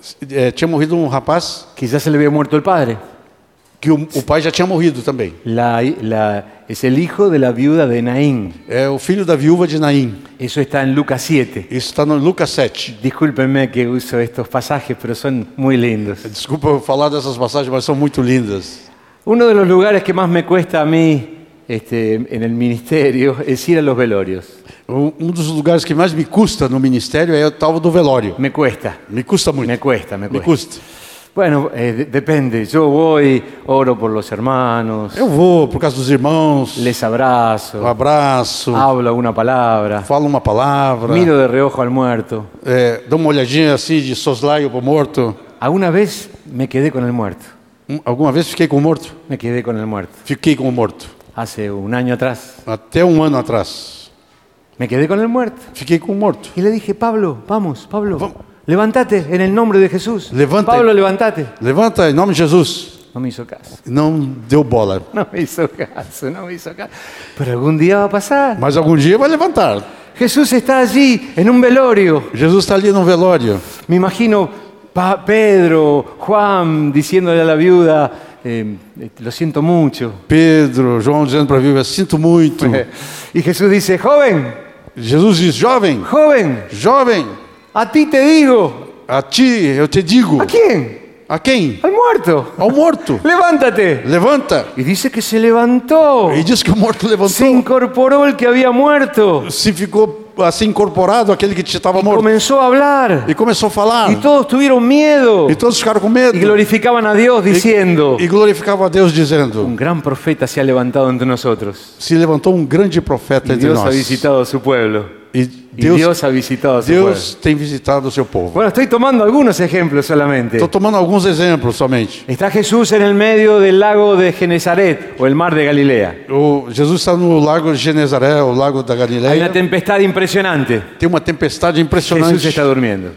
É, tinha morrido um rapaz que ya se le había muerto el padre. que o, o pai já tinha morrido também. La- la- es el hijo de la viuda de Naín. É o filho da viúva de Naim. Eso está en Lucas siete. Isso está no Lucas sete. Discúlpenme que uso estos pasajes, pero son muy lindos. Desculpa eu falar dessas passagens, mas são muito lindas. Uno de los lugares que más me cuesta a mí este, en el ministerio es ir a los velorios. Um um dos lugares que mais me custa no ministério é o tal do velório. Me cuesta, Me custa muito. me cuesta, me Me cuesta. custa. Bueno, eh, de- depende. Yo voy, oro por los hermanos, Eu vou por causa dos irmãos, les abrazo, um abraço, hablo alguna palabra, falo uma palavra, miro de reojo al muerto. é, dou uma olhadinha assim de soslaio pro morto. Alguna vez me quedé con el muerto. Um, alguma vez fiquei com o morto? Me quedé con el muerto. Fiquei com o morto. Hace un año atrás. Até um ano atrás. Me quedé con el muerto. Fiquei com o morto. Y le dije, Pablo, vamos, Pablo, Vamos. levántate en el nombre de Jesús. Levanta. Pablo, levántate. Levanta em nome de Jesus. No me hizo caso. Não deu bola. No me hizo caso, no me hizo caso. Pero algún día va a pasar. Mas algum dia vai levantar. Jesús está allí en un velorio. Jesus está ali no velório. Me imagino Pa- Pedro, Juan diciéndole a la viuda, eh, eh, lo siento mucho. Pedro, João dizendo para a viúva, sinto muito. Y Jesús dice, joven, Jesus diz, jovem, joven, jovem, a ti te digo. a ti eu te digo. ¿A quién? A quem? Al muerto. Ao morto. Levántate. Levanta. Y dice que se levantó. E diz que o morto Se levantou. incorporó el que había muerto. Se ficou assim incorporado aquele que estava morto. Comenzó a hablar. E começou a falar. Y todos tuvieron miedo. E todos ficaram com medo. Y glorificaban a Dios diciendo, E glorificavam a Deus dizendo: un gran profeta se ha levantado entre nosotros. se levantou um grande profeta Y entre Dios ha nós. visitado a su pueblo. E Y Deus, Dios ha visitado a su Deus pueblo. tem visitado o seu povo. Bueno, estoy tomando algunos ejemplos solamente. Estou tomando alguns exemplos somente. Está Jesús en el medio del lago de Genezaret o el mar de Galilea. O Jesus está no lago de Genezaré, o lago da Hay una Galileia. tempestad impresionante. Tem uma tempestade Jesús impressionante. está durmiendo.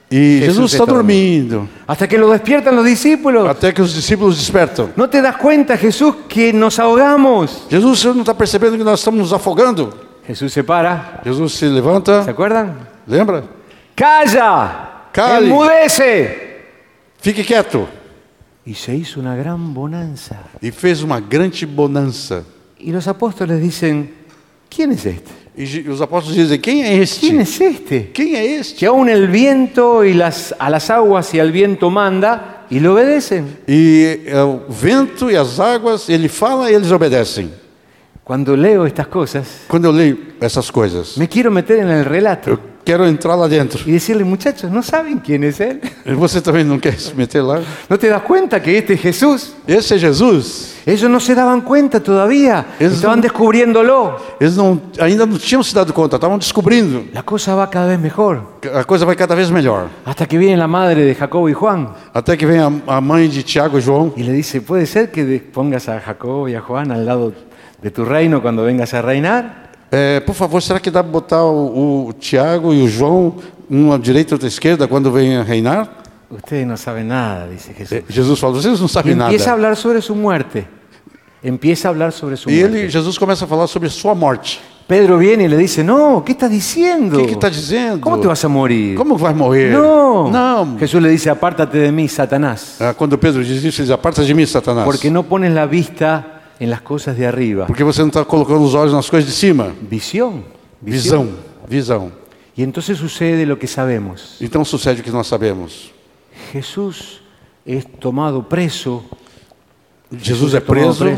E Jesús Jesus está está dormindo. Hasta que lo despiertan los discípulos. Até que os discípulos despertam. ¿No te das cuenta, Jesús, que nos ahogamos? Jesus, você não está percebendo que nós estamos nos afogando? Jesús se para. Jesus se levanta. ¿Se acuerdan? Lembra? ¡Calla! Cale. ¡Enmudece! Fique quieto. Y se hizo una gran bonanza. E fez uma grande bonança. Y los apóstoles dicen, ¿quién es este? E Je- os apóstolos dizem: quem é este? ¿Quién es este? Quem é este? Que aún el viento y las, a las aguas y al viento manda y le obedecen. E é, o vento e as águas, ele fala e eles obedecem. Cuando leo estas cosas, Quando eu leio essas coisas, me quiero meter en el relato eu quero entrar lá dentro. y decirle, muchachos, ¿no saben quién es él? E você também não quer se meter lá? ¿No te das cuenta que este es Jesús? Esse é Jesus. Ellos no se daban cuenta todavía, Es estaban un- descubriéndolo. Eles não, ainda não tinham se dado conta, estavam descobrindo. La cosa va cada vez mejor, A coisa vai cada vez melhor. hasta que viene la madre de Jacobo y Juan Até que vem a, a mãe de Tiago e João y le dice, ¿puede ser que de- pongas a Jacobo y a Juan al lado de tu reino cuando vengas a reinar? É, por favor, será que dá para botar o, o Tiago e o João, um à direita e outro à esquerda, quando vem a reinar? Ustedes no saben nada, dice Jesús. É, Jesus fala, vocês não Y sabem nada. empieza a hablar sobre su muerte. Empieza a hablar sobre su E muerte. ele, Jesus começa a falar sobre sua morte. Pedro viene y le dice, no, ¿qué estás diciendo? O que está dizendo? ¿Cómo te vas a morir? Como vai morrer? No. Não. Jesús le dice, apártate de mí, Satanás, Ah, quando Pedro diz isso, ele diz, aparta de mim, Satanás. porque no pones la vista en las cosas de arriba. Porque você não está colocando os olhos nas coisas de cima. Visión. Visão, visão. Y entonces sucede lo que sabemos. Então sucede o que nós sabemos. Jesús es tomado preso. Jesus é tomado preso.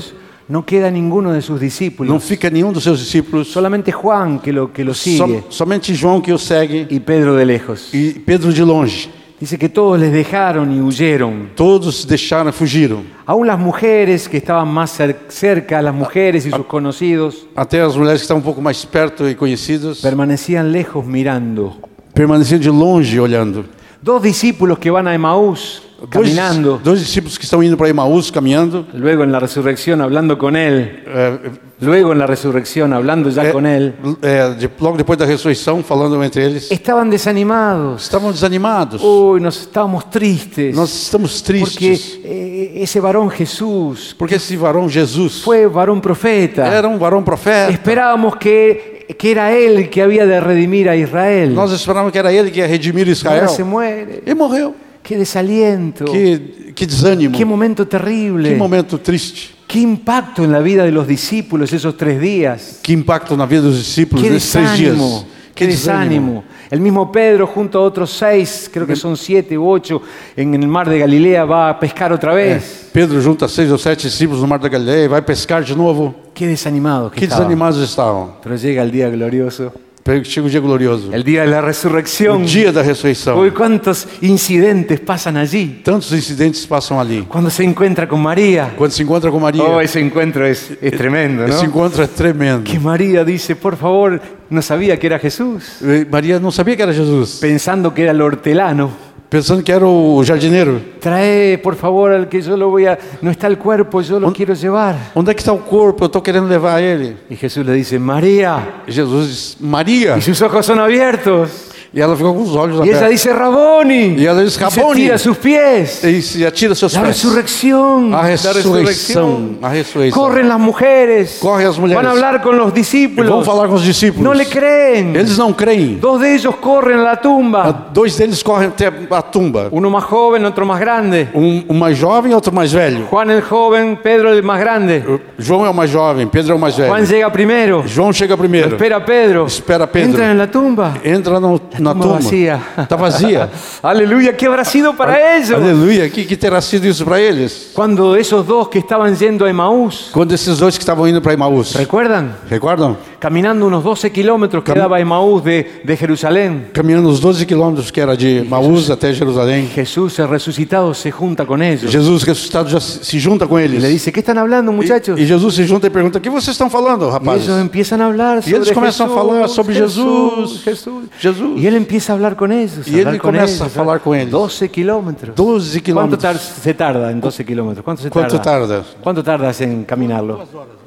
no queda ninguno de sus discípulos. Não fica nenhum dos seus discípulos. Solamente Juan que lo, que lo sigue. Som, somente João que o segue. Y Pedro de lejos. E Pedro de longe. Dice que todos les dejaron y huyeron. Todos deixaram, fugiram. Aún las mujeres que estaban más cerca, las mujeres y sus conocidos, até as mulheres que estavam um pouco mais perto e conhecidas, permanecían lejos mirando. Permaneciam de longe olhando. Dos discípulos que van a Emaús caminando. Dois, dois discípulos que estão indo para Emaús caminhando. Luego en la resurrección hablando con él. É, Luego en la resurrección hablando ya é, con él. É, de, logo depois da ressurreição, falando entre eles. Estaban desanimados. Estavam desanimados. Uy, nos estábamos tristes. Nós estamos tristes. Porque eh, ese varón Jesús. Porque esse varão Jesus. Fue varón profeta. Era um varão profeta. Esperábamos que que era él que había de redimir a Israel. Nós esperávamos que era ele que ia redimir Israel. Ahora se muere. E morreu. Qué desaliento. Que, que desânimo. Qué momento terrible. Que momento triste. Qué impacto en la vida de los discípulos esos tres días. Que impacto na vida dos discípulos Qué nesses três dias. desánimo. Qué desánimo. El mismo Pedro junto a otros seis, creo que son siete u ocho, en el mar de Galilea va a pescar otra vez. É, Pedro junta seis ou sete discípulos no mar da Galileia e vai pescar de novo. Qué desanimados que, Que estaban. desanimados estavam. Pero llega el día glorioso, Chega o dia glorioso. el día de la resurrección. O dia da ressurreição. Uy, cuántos incidentes pasan allí. Tantos incidentes passam ali. Cuando se encuentra con María. Quando se encontra com Maria. Oh, ese encuentro es, es tremendo, ¿no? Esse encontro é tremendo. Que María dice, por favor, no sabía que era Jesús. Maria não sabia que era Jesus. Pensando que era el hortelano. Pensando que era o jardineiro. Trae, por favor, al que yo lo voy a... No está el cuerpo, yo lo On- quiero llevar. Onde é que está o corpo? Eu estou querendo levar ele. Y Jesús le dice, María. Jesus diz, Maria. Y sus ojos son abiertos. E ela ficou com os olhos Y ella abertos. dice, Raboni. Y ella dice, Y se Raboni. tira a sus pies. E se atira seus La pés. resurrección. A La ressurreição. A ressurreição. Corren las mujeres. Correm as mulheres. Van a hablar con los E discípulos. vão falar com os discípulos. No le creen. Eles não creem. Dos de ellos corren a la tumba. Dois deles correm até a tumba. Uno más joven, otro más grande. Um, um mais jovem e outro mais velho. Juan el joven, Pedro el más grande. João é o mais jovem, Pedro é o mais velho. Juan llega primero. João chega Lo primeiro. espera Pedro. Espera Pedro. Entran en la tumba. Entra no, na tumba tumba. vazia. Está vazia. Aleluya, ¿qué habrá sido para ellos? Aleluia. O que, que terá sido isso para eles? Cuando esos dos que estaban yendo a Emaús, Quando esses dois que estavam indo para Emaús. ¿recuerdan? Recordam? Caminando unos doce kilómetros que Cam- daba Emaús de, de Jerusalén. Caminhando os doze quilômetros que era de Emaús até Jerusalém. Jesús, el resucitado, se junta con ellos. Jesus ressuscitado já se se junta com Y eles. le dice, ¿qué están hablando, muchachos? E, e Jesus se junta e pergunta: o que vocês estão falando, Y rapazes? ellos empiezan a hablar E sobre eles começam Jesús, a falar sobre Jesús, Jesus. Jesús. Jesus. Y él empieza a hablar con ellos. Y él hablar con comienza ellos, a hablar con ellos. doce kilómetros. doze ¿Cuánto tar- quilômetros. se tarda en doce kilómetros? ¿Cuánto se Quanto tarda? tarda? ¿Cuánto tardas en caminarlo?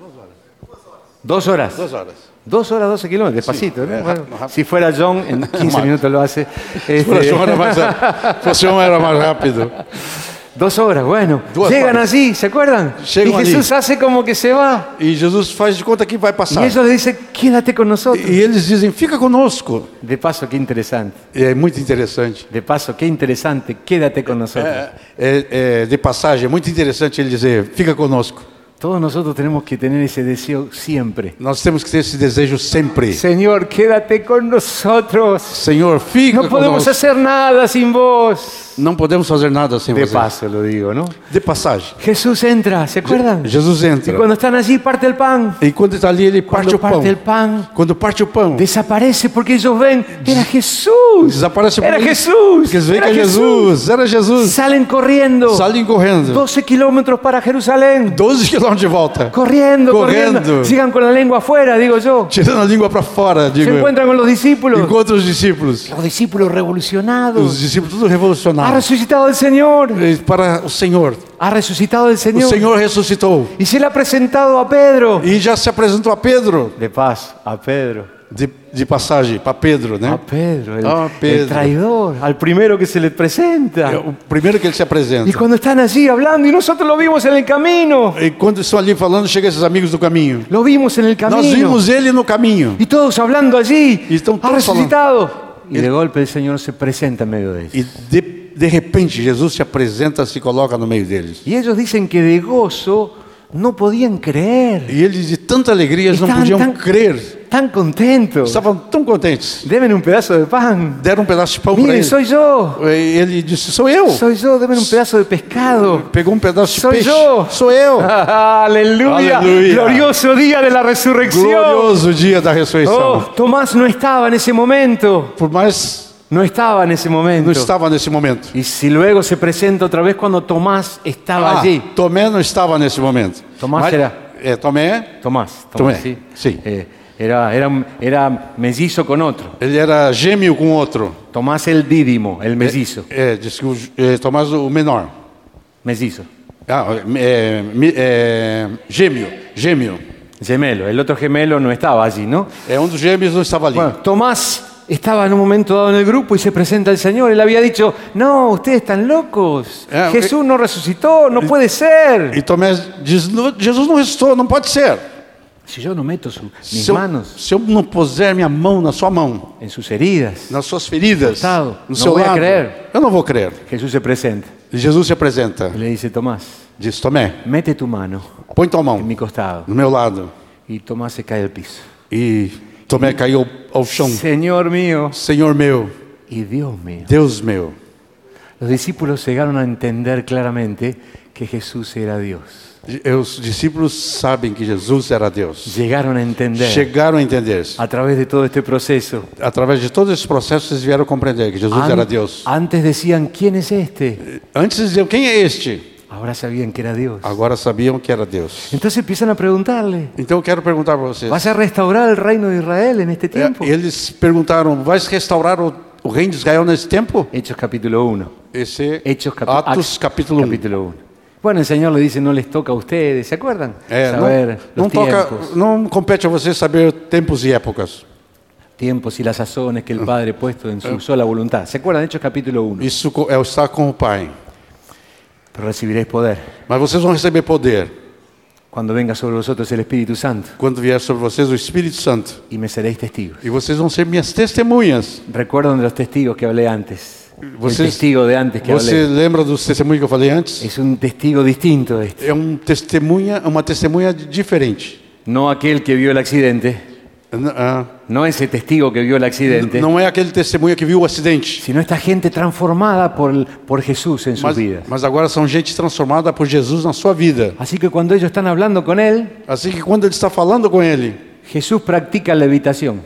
Dos horas. Duas horas. Dos horas, doce kilómetros, despacito. ¿no? Sí, Bueno, rápido. si fuera John, en quince Más. minutos lo hace. Este, Se João era mais, se João era mais rápido. dos horas, bueno. Dos Llegan horas. allí, ¿se acuerdan? Llegan y Jesús allí. hace como que se va. E Jesus faz de conta que vai Y passar. ellos le dicen, quédate con nosotros. E eles dizem: fica conosco. De paso, qué interesante. E é muito interessante. De paso, qué interesante, quédate con nosotros. É, é, é, de passagem, é muito interessante ele dizer: fica conosco. Todos nosotros tenemos que tener ese deseo siempre. Nós temos que ter esse desejo sempre. Señor, quédate con nosotros. Senhor, fica No podemos conosco. hacer nada sin vos. Não podemos fazer nada sem De você. paso lo digo, ¿no? De passagem. Jesús entra, ¿se acuerdan? Jesus Y entra. cuando están allí parte el pan. E quando está ali, ele parte Cuando o pão. parte el pan, Quando parte o pão, desaparece porque ellos ven, era Jesús. desaparece o Era pão. Jesús. Porque eles veem que Era é Jesus. Era Jesus. Salen corriendo. Saem correndo. doce kilómetros para Jerusalén. doze quilômetros de volta. Corriendo, corriendo, Corriendo. Sigan con la lengua afuera, digo yo. Tirando a língua para fora, Se digo eu. encuentran con los discípulos. Encontra os discípulos. Los discípulos revolucionados. Os discípulos tudo Ha revolucionados. resucitado el Señor. E Para o Senhor. Ha resucitado el O Señor. Senhor ressuscitou. Y se le ha presentado a Pedro. E já se apresentou a Pedro. De paz, a Pedro. De, de passagem, para Pedro, A né? Pedro, el, Ah, el Pedro. traidor, al primero que se le presenta. É o primeiro que ele se apresenta. Y cuando están allí hablando, y nosotros lo vimos en el camino. E quando estão ali falando, chegam esses amigos do caminho. Lo vimos en el camino. Nós vimos ele no caminho. Y todos hablando allí. Y están Ha todos resucitado. Y de golpe el Señor se presenta en medio de ellos. E de, de repente Jesus se apresenta, se coloca no meio deles. Y ellos dicen que de gozo no podían creer. E eles de tanta alegria eles não Estavam podiam tan- crer. tan contentos. Estavam tão contentes. Deme um pedaço de pan. Deram um pedaço de pão para Miren, ele. soy yo. E ele disse, sou eu. Soy yo, deme um pedaço de pescado. Pegou um pedaço de Soy peixe. yo. Sou eu. Aleluya. Aleluya. Glorioso día de la resurrección. Glorioso dia da ressurreição. Oh, Tomás no estaba en ese momento. Por mais No estaba en ese momento. não estava nesse momento. Y si luego se presenta otra vez cuando Tomás estaba Ah, allí. Tomé não estava nesse momento. Tomás Mas- era- É, Tomé, Tomás, Tomé, Tomás, sí. sí. Eh, era, era, era mellizo con otro. ele era gêmeo com outro. Tomás el dídimo, el mellizo. É, disse que o, é, Tomás o menor. Mellizo. Ah, é, mi- é, gêmeo, gêmeo. Gemelo. El otro gemelo no estaba allí, ¿no? É, um dos gêmeos não estava ali. Bueno, Tomás estaba en un momento dado en el grupo y se presenta el Señor. Él había dicho, no, ustedes están locos. Eh, Jesús no resucitó, no puede ser. E Tomé diz, "Não, Jesus não ressuscitou, não pode ser. Si yo no meto su- mis Se eu, manos se eu não puser minha mão na sua mão, en sus heridas, nas suas feridas, Costado, no não seu vou lado, crer. eu não vou crer. Jesús se presenta E Jesus se apresenta, y le dice, Tomás, diz, Tomé, mete tu mano põe tua mão en mi costado. no meu lado. Y Tomás se cae al piso. E Tomé caiu ao chão. Señor mío Senhor meu, y Dios mío. Deus meu. Los discípulos llegaron a entender claramente que Jesús era Dios. E os discípulos sabem que Jesus era Deus. Llegaron a entender Chegaram a entender. a través de todo este proceso. Através de todos esses processos, eles vieram compreender que Jesus An- era Deus. Antes decían, ¿quién es este? Antes diziam, quem é este? Ahora sabían que era Dios. Agora sabiam que era Deus. Entonces empiezan a preguntarle, Então eu quero perguntar para vocês. ¿vas a restaurar el reino de Israel en este É, tiempo? eles perguntaram, vais restaurar o, o reino de Israel nesse tempo? Hechos capítulo uno. Esse Hechos capi- Atos Acts, capítulo um. capítulo uno. Bueno, el Señor le dice, no les toca a ustedes, ¿se acuerdan? É, Saber não, não, los toca, tiempos, não compete a você saber tempos e épocas. tiempos y las sazones que el Padre ha puesto en su sola voluntad. ¿Se acuerdan? Hechos capítulo uno. Isso co- é o estar com o Pai. Pero recibiréis poder Mas vocês vão receber poder cuando venga sobre vosotros el Espíritu Santo quando vier sobre vocês o Espírito Santo. y me seréis testigos. E vocês vão ser minhas testemunhas. Recuerdan de los testigos que hablé antes. El Vocês, testigo de antes que você hablé. lembra dos testemunhos que eu falei antes? Es un testigo distinto este. É um testemunha, uma testemunha diferente. No aquel que vio el accidente, N- ah, no ese testigo que vio el accidente, não é aquele testemunha que viu o acidente. sino esta gente transformada por, el- por Jesús en sus Mas, vidas. mas agora são gente transformada por Jesus na sua vida. Así que cuando ellos están hablando con Él, Assim que quando ele está falando com ele, Jesús practica levitación.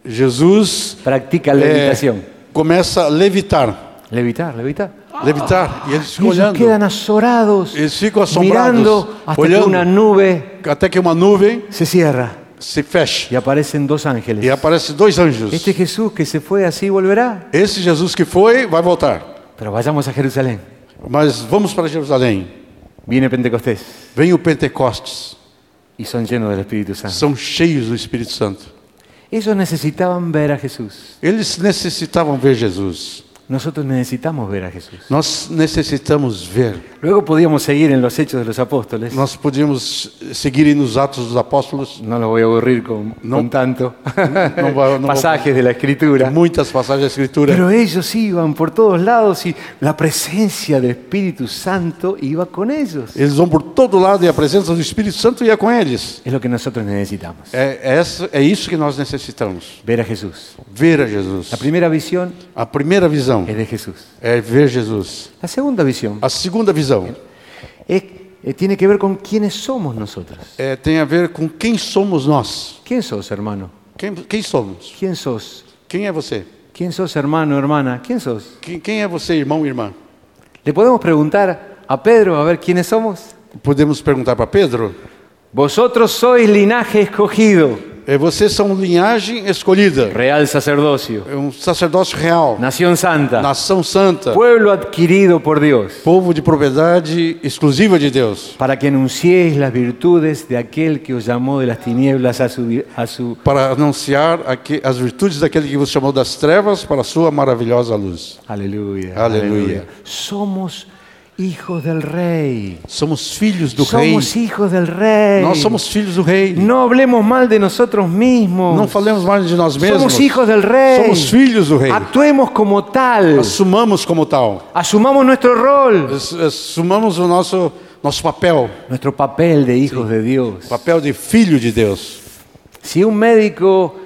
Jesus Practica é, levitación. começa a levitar. Levitar, levitar. Levitar. E eles Y ficam ellos olhando. quedan azorados, Eles ficam assombrados, mirando hasta que olhando, una nube até que uma nuvem se cierra se fecha. y aparecen dos ángeles. E aparecem dois anjos. Este Jesús que se fue así volverá. Esse Jesus que foi, vai voltar. Pero vayamos a Jerusalén. Mas vamos para Jerusalém. Viene Pentecostés Vem o Pentecostes. y son llenos del Espíritu Santo. São cheios do Espírito Santo. Ellos necesitaban ver a Jesús. Eles necessitavam ver Jesus. Nosotros necesitamos ver a Jesús. Nós necessitamos ver. Luego podíamos seguir en los Hechos de los Apóstoles. Nós podíamos seguir nos Atos dos Apóstolos. No los voy a aburrir con, No. con tanto No va- no va- pasajes de la Escritura. Muitas passagens da Escritura. Pero ellos iban por todos lados y la presencia del Espíritu Santo iba con ellos. Eles vão por todo lado e a presença do Espírito Santo ia com eles. Es lo que nosotros necesitamos. É, é, essa, é isso que nós necessitamos. Ver a Jesús. Ver a Jesus. La primera visión A primeira visão es de Jesús. é ver Jesus. La segunda visión A segunda visão es, eh, tiene que ver con quiénes somos nosotros. é, tem a ver com quem somos nós. ¿Quién sos, hermano? Quem, quem somos? ¿Quién sos? Quem é você? ¿Quién sos, hermano, hermana? ¿Quién sos? Quem, quem é você, irmão e irmã? ¿Le podemos preguntar a Pedro a ver quiénes somos? Podemos perguntar para Pedro? Vosotros sois linaje escogido, É, vocês são linhagem escolhida. real sacerdocio, É um sacerdócio real. nación santa, Nação santa. pueblo adquirido por Dios, Povo de propriedade exclusiva de Deus. para que anunciéis las virtudes de aquel que os llamó de las tinieblas a su, vi- a su... Para anunciar aqui, as virtudes daquele que vos chamou das trevas para a sua maravilhosa luz. Aleluya, Aleluya. Somos hijos del Rey. Somos filhos do Rei. Somos hijos del Rey. Nós somos filhos do Rei. No hablemos mal de nosotros mismos. Não falemos mais de nós mesmos. Somos hijos del Rey. Somos filhos do Rei. Actuemos como tal. Assumamos como tal. Asumamos nuestro rol. Ass- Assumamos o nosso, nosso papel. Nuestro papel de hijos de Dios. Papel de filho de Deus. Si un médico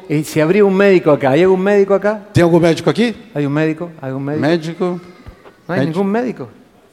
eh, si habría un médico acá. ¿Hay algún médico acá? Tem algum médico aqui? ¿Hay un médico? ¿Algún médico? Médico? ¿No hay médico. ningún médico?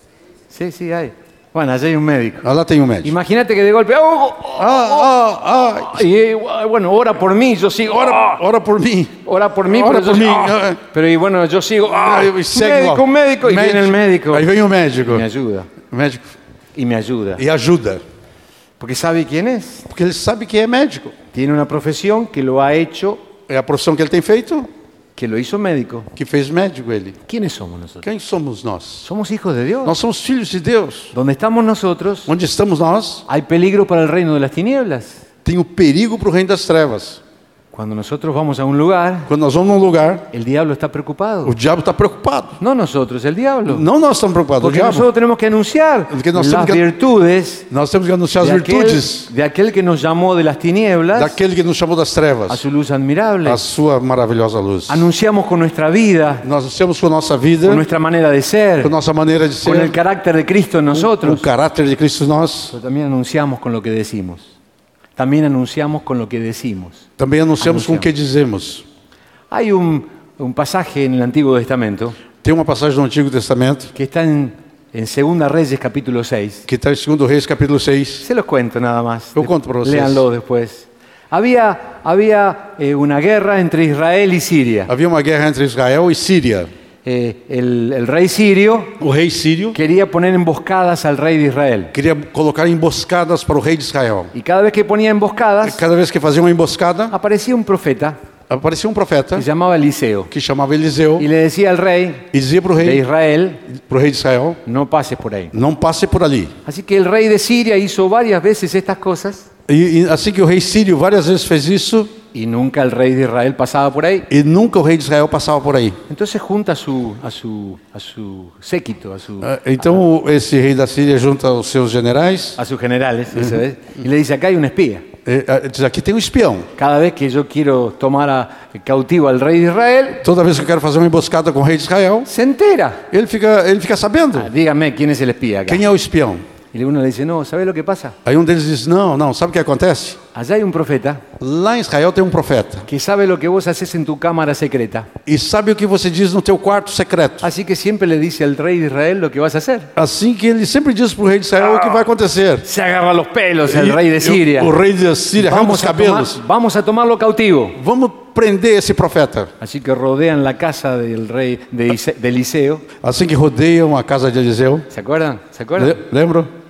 Sí, sí, hay. Bueno, allá hay un médico. Ah, lá tem um médico. Imagínate que de golpe... ¡Oh, oh, oh! Ah, ah, ah. Y, eh, bueno, ora por mí, yo sigo. Ora, ora por mim. Ora por mí, Ora pero, por yo, mim. ah, pero y bueno, yo sigo. Ah, Ah, e segue médico, lá. un médico. Y viene el médico. Aí vem o médico. Me ayuda. O médico. Y me ayuda. E ajuda. Porque sabe quién es. Porque ele sabe que é médico. Tiene una profesión que lo ha hecho, É a profissão que ele tem feito que lo hizo médico. que fez médico ele. ¿Quiénes somos nosotros? Quem somos nós? Somos hijos de Dios. Nós somos filhos de Deus. Donde estamos nosotros, Onde estamos nós, hay peligro para el reino de las tinieblas. tem o perigo para o reino das trevas. Cuando nosotros vamos a un lugar, Quando nós vamos num lugar, el diablo está preocupado. o diabo está preocupado. No nosotros, el diablo. Não nós estamos preocupados, o Porque diabo. nosotros tenemos que anunciar Porque nós las temos que- virtudes Nós temos que anunciar as de aquel, virtudes de aquel que nos llamó de las tinieblas daquele que nos chamou das a trevas, su luz admirable. a sua maravilhosa luz. Anunciamos con nuestra vida, Nós anunciamos com a nossa vida, con nuestra manera de ser, com a nossa maneira de con el ser, carácter de Cristo en o nosotros. caráter de Cristo em nós. Pero también anunciamos con lo que decimos. También anunciamos con lo que decimos. Também anunciamos com o Anunciamos. que dizemos. Hay un, un pasaje en el Antiguo Testamento Tem uma passagem do Antigo Testamento que está en, en Segunda Reyes capítulo seis. que está em segundo Reis, capítulo seis. Se los cuento nada más. Yo cuento para ustedes. Léanlo después. Había, había eh, una guerra entre Israel y Siria. Havia uma guerra entre Israel e Síria. Eh, el, el rey sirio O rei sírio quería poner emboscadas al rey de Israel. queria colocar emboscadas para o rei de Israel. Y cada vez que ponía emboscadas, Cada vez que fazia uma emboscada, aparecía un profeta aparecia um profeta que se llamaba Eliseo. que chamava Eliseu Y le decía al rey e dizia para o de rei, Israel, para o rei de Israel, no pases por ahí. não passe por ali. Así que el rey de Siria hizo varias veces estas cosas E, e assim que o rei sírio várias vezes fez isso y nunca el rey de Israel pasaba por ahí. e nunca o rei de Israel passava por aí. Entonces junta a su, a su, a su séquito, a, su, Ah, Então esse rei da Síria junta os seus generais a sus generales, eso es, y le dice, acá hay un espía. e, ah, diz, aqui tem um espião. Cada vez que yo quiero tomar a, cautivo al rey de Israel, Toda vez que eu quero fazer uma emboscada com o rei de Israel, se entera. ele fica, ele fica sabendo Ah, dígame quién es el espía acá. quem é o espião. Y uno le dice, no, ¿sabe lo que pasa? Aí um deles diz, não, não, sabe o que acontece? Allá hay un profeta Lá em Israel tem um profeta que sabe lo que vos haces en tu cámara secreta. e sabe o que você diz no teu quarto secreto. Así que siempre le dice al rey de Israel lo que vas a hacer. Assim que ele sempre diz para o rei de Israel o que vai acontecer. Se agarra los pelos el E rey de Siria. O, o rei de Síria arranca os Vamos a, tomar, cabelos. vamos a tomarlo cautivo. Vamos prender esse profeta. Así que rodean la casa del rey de, Ise- de Eliseo. Assim que rodeiam a casa de Eliseu. ¿Se acuerdan? ¿Se acuerdan? Le- Lembram?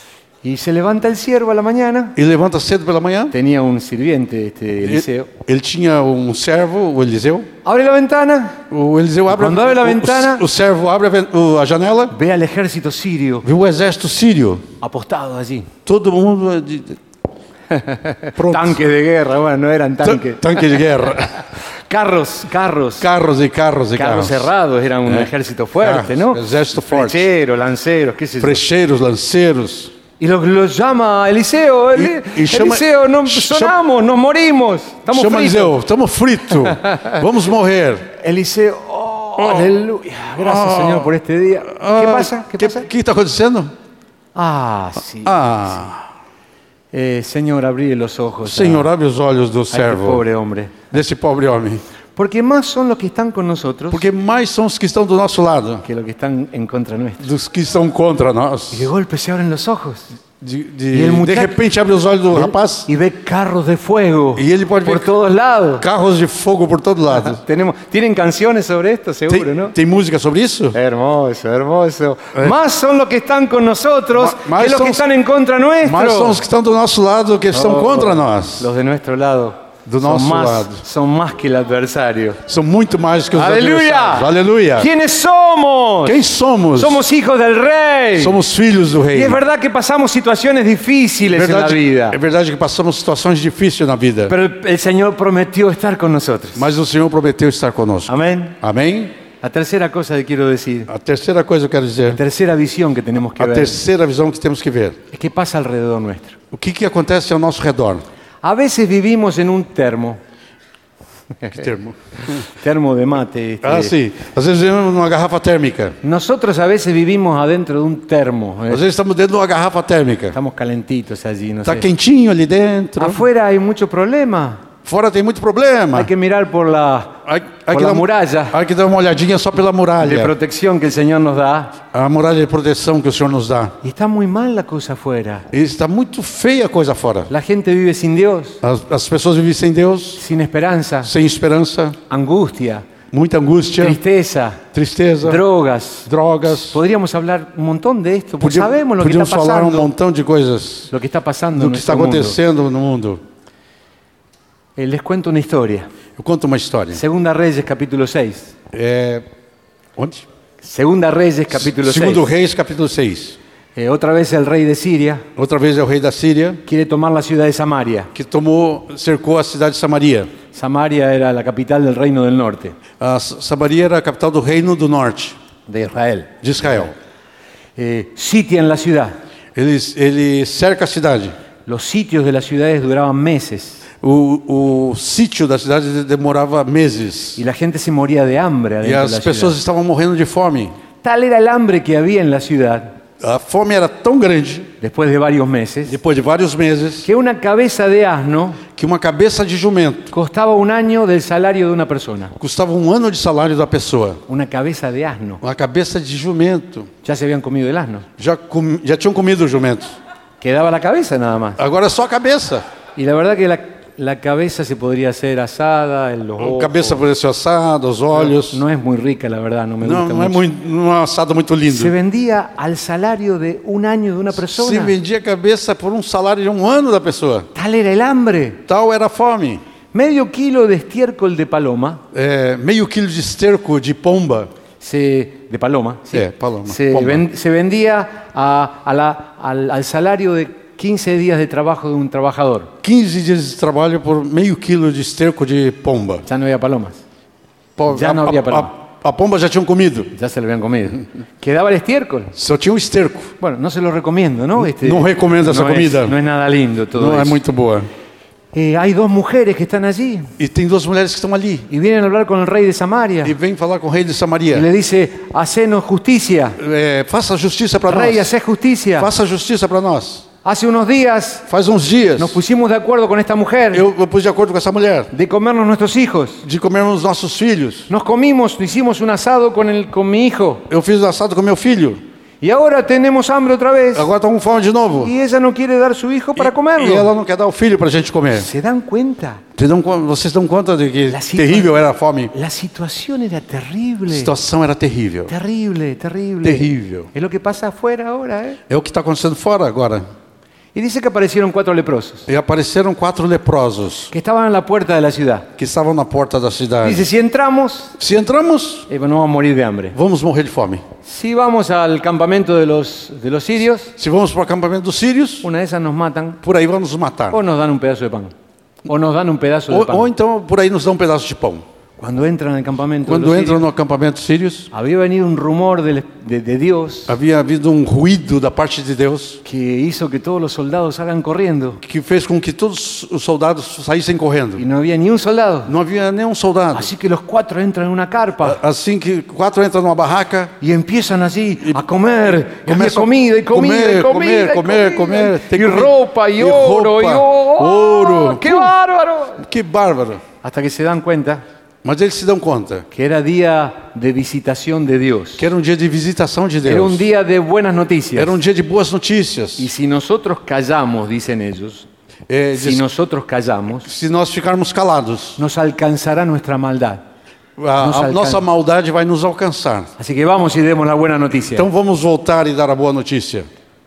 Y se levanta el siervo a la mañana. E levanta cedo pela manhã. Tenía un sirviente, este Eliseo. Ele, ele tinha um servo, o Eliseu. Abre la ventana, O Eliseu abre, Quando abre a o- ventana- o, o servo abre a, ven- o- a janela, ve al ejército sirio viu o exército sírio. apostado allí. Todo mundo de- de- pronto. Tanques de guerra, bueno, no eran Ta- tanques. Tanque de guerra. Carros, carros. Carros e carros e Carros carros. cerrados, era un Eh, ejército fuerte, carros, ¿no? ejército fuerte. Flecheros, lanceros, qué sé yo. Frecheiros, lanceiros. Y los, los llama Eliseo. Eli- Y- y llama- Eliseo, no, ch- sonamos, nos morimos. Estamos Chama fritos. Eliseu, estamos fritos. Vamos morrer. Eliseo, oh, aleluya. Gracias, Señor, por este día. ¿Qué pasa? ¿Qué que, pasa? O que está acontecendo? Ah, sí. Ah, Eh, Señor, abrí los ojos. Senhor, abre os olhos do a, a este servo, pobre hombre. desse pobre homem. Porque más son los que están con nosotros Porque mais são os que estão do nosso lado, que los que están en contra nuestra. dos que estão contra nós. Y de golpe se abren los ojos. De, de, E ele de muchacho- repente abre os olhos do rapaz, Y ve carros de fuego Y él puede por ver- todos lados. carros de fogo por todo lado. Tenemos, ¿Tienen canciones sobre esto? Seguro, Tem, ¿no? tem música sobre isso? Hermoso, hermoso. Más son los que están con nosotros Ma- más que los son- que están en contra nuestro. Mas são os que estão do nosso lado que estão Oh, contra nós. Los de nuestro lado Do son, nosso más, lado. son más que el adversario. São muito mais que os ¡Aleluya! adversários. Aleluia! ¿Quiénes somos? Quem somos? Somos hijos del Rey. Somos filhos do Y Rei. es verdad que pasamos situaciones difíciles en la Verdade- vida. é verdade que passamos situações difíceis na vida, Pero el, el Señor prometió estar con nosotros. mas o Senhor prometeu estar conosco. Amén. Amém? La tercera cosa que quiero decir, A terceira coisa que eu quero la dizer, tercera visión que tenemos que a ver, terceira visão que temos que ver. es qué pasa alrededor nuestro. O que, que acontece ao nosso redor? A veces vivimos en un termo, Que termo? termo de mate. este, Ah, sim. Às vezes vivemos numa garrafa térmica. Nosotros a veces vivimos adentro de un termo. ¿eh? Às vezes estamos dentro de uma garrafa térmica. Estamos calentitos allí, no Está sé. quentinho ali dentro. Afuera hay mucho problema. Fora tem muito problema. Hay que mirar por la, Hay, hay por que la dar, muralla hay que dar uma olhadinha só pela de muralha. protección que el Señor nos da. A muralha de proteção que o Senhor nos dá. Y está muy mal la cosa afuera. E está muito feia a coisa fora. La gente vive sin Dios, As, as pessoas vivem sem Deus, sin esperanza, sem esperança, angustia, muita angústia, tristeza, tristeza, drogas. drogas. Podríamos hablar un montón de esto, porque Podia- sabemos lo que Podíamos está falar um pasando, montão de coisas lo que está pasando do en que está nuestro mundo. acontecendo no mundo. Eh, Les cuento una historia. Eu conto uma história. Segunda Reyes, capítulo seis. É, onde? Segunda Reyes, capítulo Segundo seis. Reis, capítulo seis. Eh, otra vez el rey de Siria Outra vez é o rei da Síria quiere tomar la ciudad de Samaria. que tomou, cercou a cidade de Samaria. Samaria era la capital del reino del norte, A S- Samaria era a capital do reino do norte de Israel. de Israel. Eh, sitian la ciudad. Ele, ele cerca a cidade. Los sitios de las ciudades duraban meses O, o sítio da cidade demorava meses. y la gente se moría de hambre E adentro de as la pessoas ciudad. estavam morrendo de fome. Tal era el hambre que había en la ciudad A fome era tão grande, después de varios meses, depois de vários meses, que una cabeza de asno que uma cabeça de jumento costaba un año del salario de una persona. custava um ano de salário da pessoa. Una cabeza de asno. Uma cabeça de jumento. Ya se habían comido el asno. Já, com, já tinham comido o jumento. Quedaba la cabeza nada más. Agora é só a cabeça. Y la verdad que la, la cabeza se podría hacer asada, en los A ojos. cabeça poderia ser assada, os olhos. No es muy rica, la verdad, no me Não, gusta não é mucho. muito, não é um assado muito lindo. Se vendía al salario de un año de una Se persona. vendia a cabeça por um salário de um ano da pessoa. Tal era el hambre. Tal era a fome. Medio kilo de estiércol de paloma, É, meio quilo de esterco de pomba. se, de paloma, sí, É, paloma, se, pomba. ven- se vendía a- a la- al, al salario de quince días de trabajo de un trabajador. quinze dias de trabalho por meio quilo de esterco de pomba. Ya no había palomas, Po- Já a, não havia a, paloma. a, a pomba já tinham comido. ya se lo habían comido. Quedaba el estiércol. Só tinha o esterco. Bueno, no se lo recomiendo, ¿no? Este, No recomiendo esa no es- comida. no es nada lindo todo Não é eso. muito boa. Eh, hay dos mujeres que están allí E tem duas mulheres que estão ali. y vienen a hablar con el rey de Samaria. E vem falar com o rei de Y Samaria. le dice, hacenos justicia. É, faça justiça para Rey, nós. hacé justicia. Faça justiça para nós. Hace unos días Faz uns dias nos pusimos de acuerdo con esta mujer eu, eu pus de acordo com essa mulher de comernos nuestros hijos. de comermos nossos filhos. Nos comimos, hicimos un asado con, el, con mi hijo. Eu fiz assado com meu filho. Y ahora tenemos hambre otra vez. Agora estão com fome de novo. Y ella no quiere dar su hijo para E comerlo. ela não quer dar o filho para a gente comer. ¿Se dan cuenta? Vocês dão, con- vocês dão conta de que La situa- terrível era a fome? La situación era A terrible. situação era terrível. Terrible, terrible. Terrível. Es lo que pasa afuera ahora, ¿eh? É o que está acontecendo fora agora. Y dice que aparecieron cuatro leprosos E apareceram quatro leprosos que estaban en la puerta de la ciudad. que estavam na porta da cidade. Dice, si entramos, Se entramos, eh, no vamos a morir de hambre. vamos morrer de fome. Si vamos al campamento de los, de los sirios, Se vamos para o acampamento dos sírios, una de esas nos matan por aí vão nos matar. o nos dan un pedazo de pan. O nos dan un pedazo de Ou, pan. ou então por aí nos dão um pedaço de pão. Cuando entran al campamento de Quando los entram sirios, no acampamento sírios, había venido un rumor del- de, de Dios havia havido um ruído da parte de Deus que hizo que todos los soldados salgan corriendo. que fez com que todos os soldados saíssem correndo. Y no había ni un soldado. Não havia nenhum soldado. Así que los cuatro entran en una carpa Assim que quatro entram numa barraca, y empiezan así a comer. Y había começam comida y comida comer, y comida. y comer, comida. comer, tem y comida. ropa y, Y oro. ropa, y oro. ouro. ¡Qué bárbaro! que bárbaro. Hasta que se dan cuenta Mas eles se dão conta que era día de visitación de Dios. que era um dia de visitação de Era un Deus. día de buenas noticias. Era um dia de boas notícias. Y si nosotros callamos, dicen ellos, É, si diz- nosotros callamos, se nós ficarmos calados, nos alcanzará nuestra maldad. a, Nos a alcança. nossa maldade vai nos alcançar. Así que vamos y demos la buena noticia. Então vamos voltar e dar a boa notícia.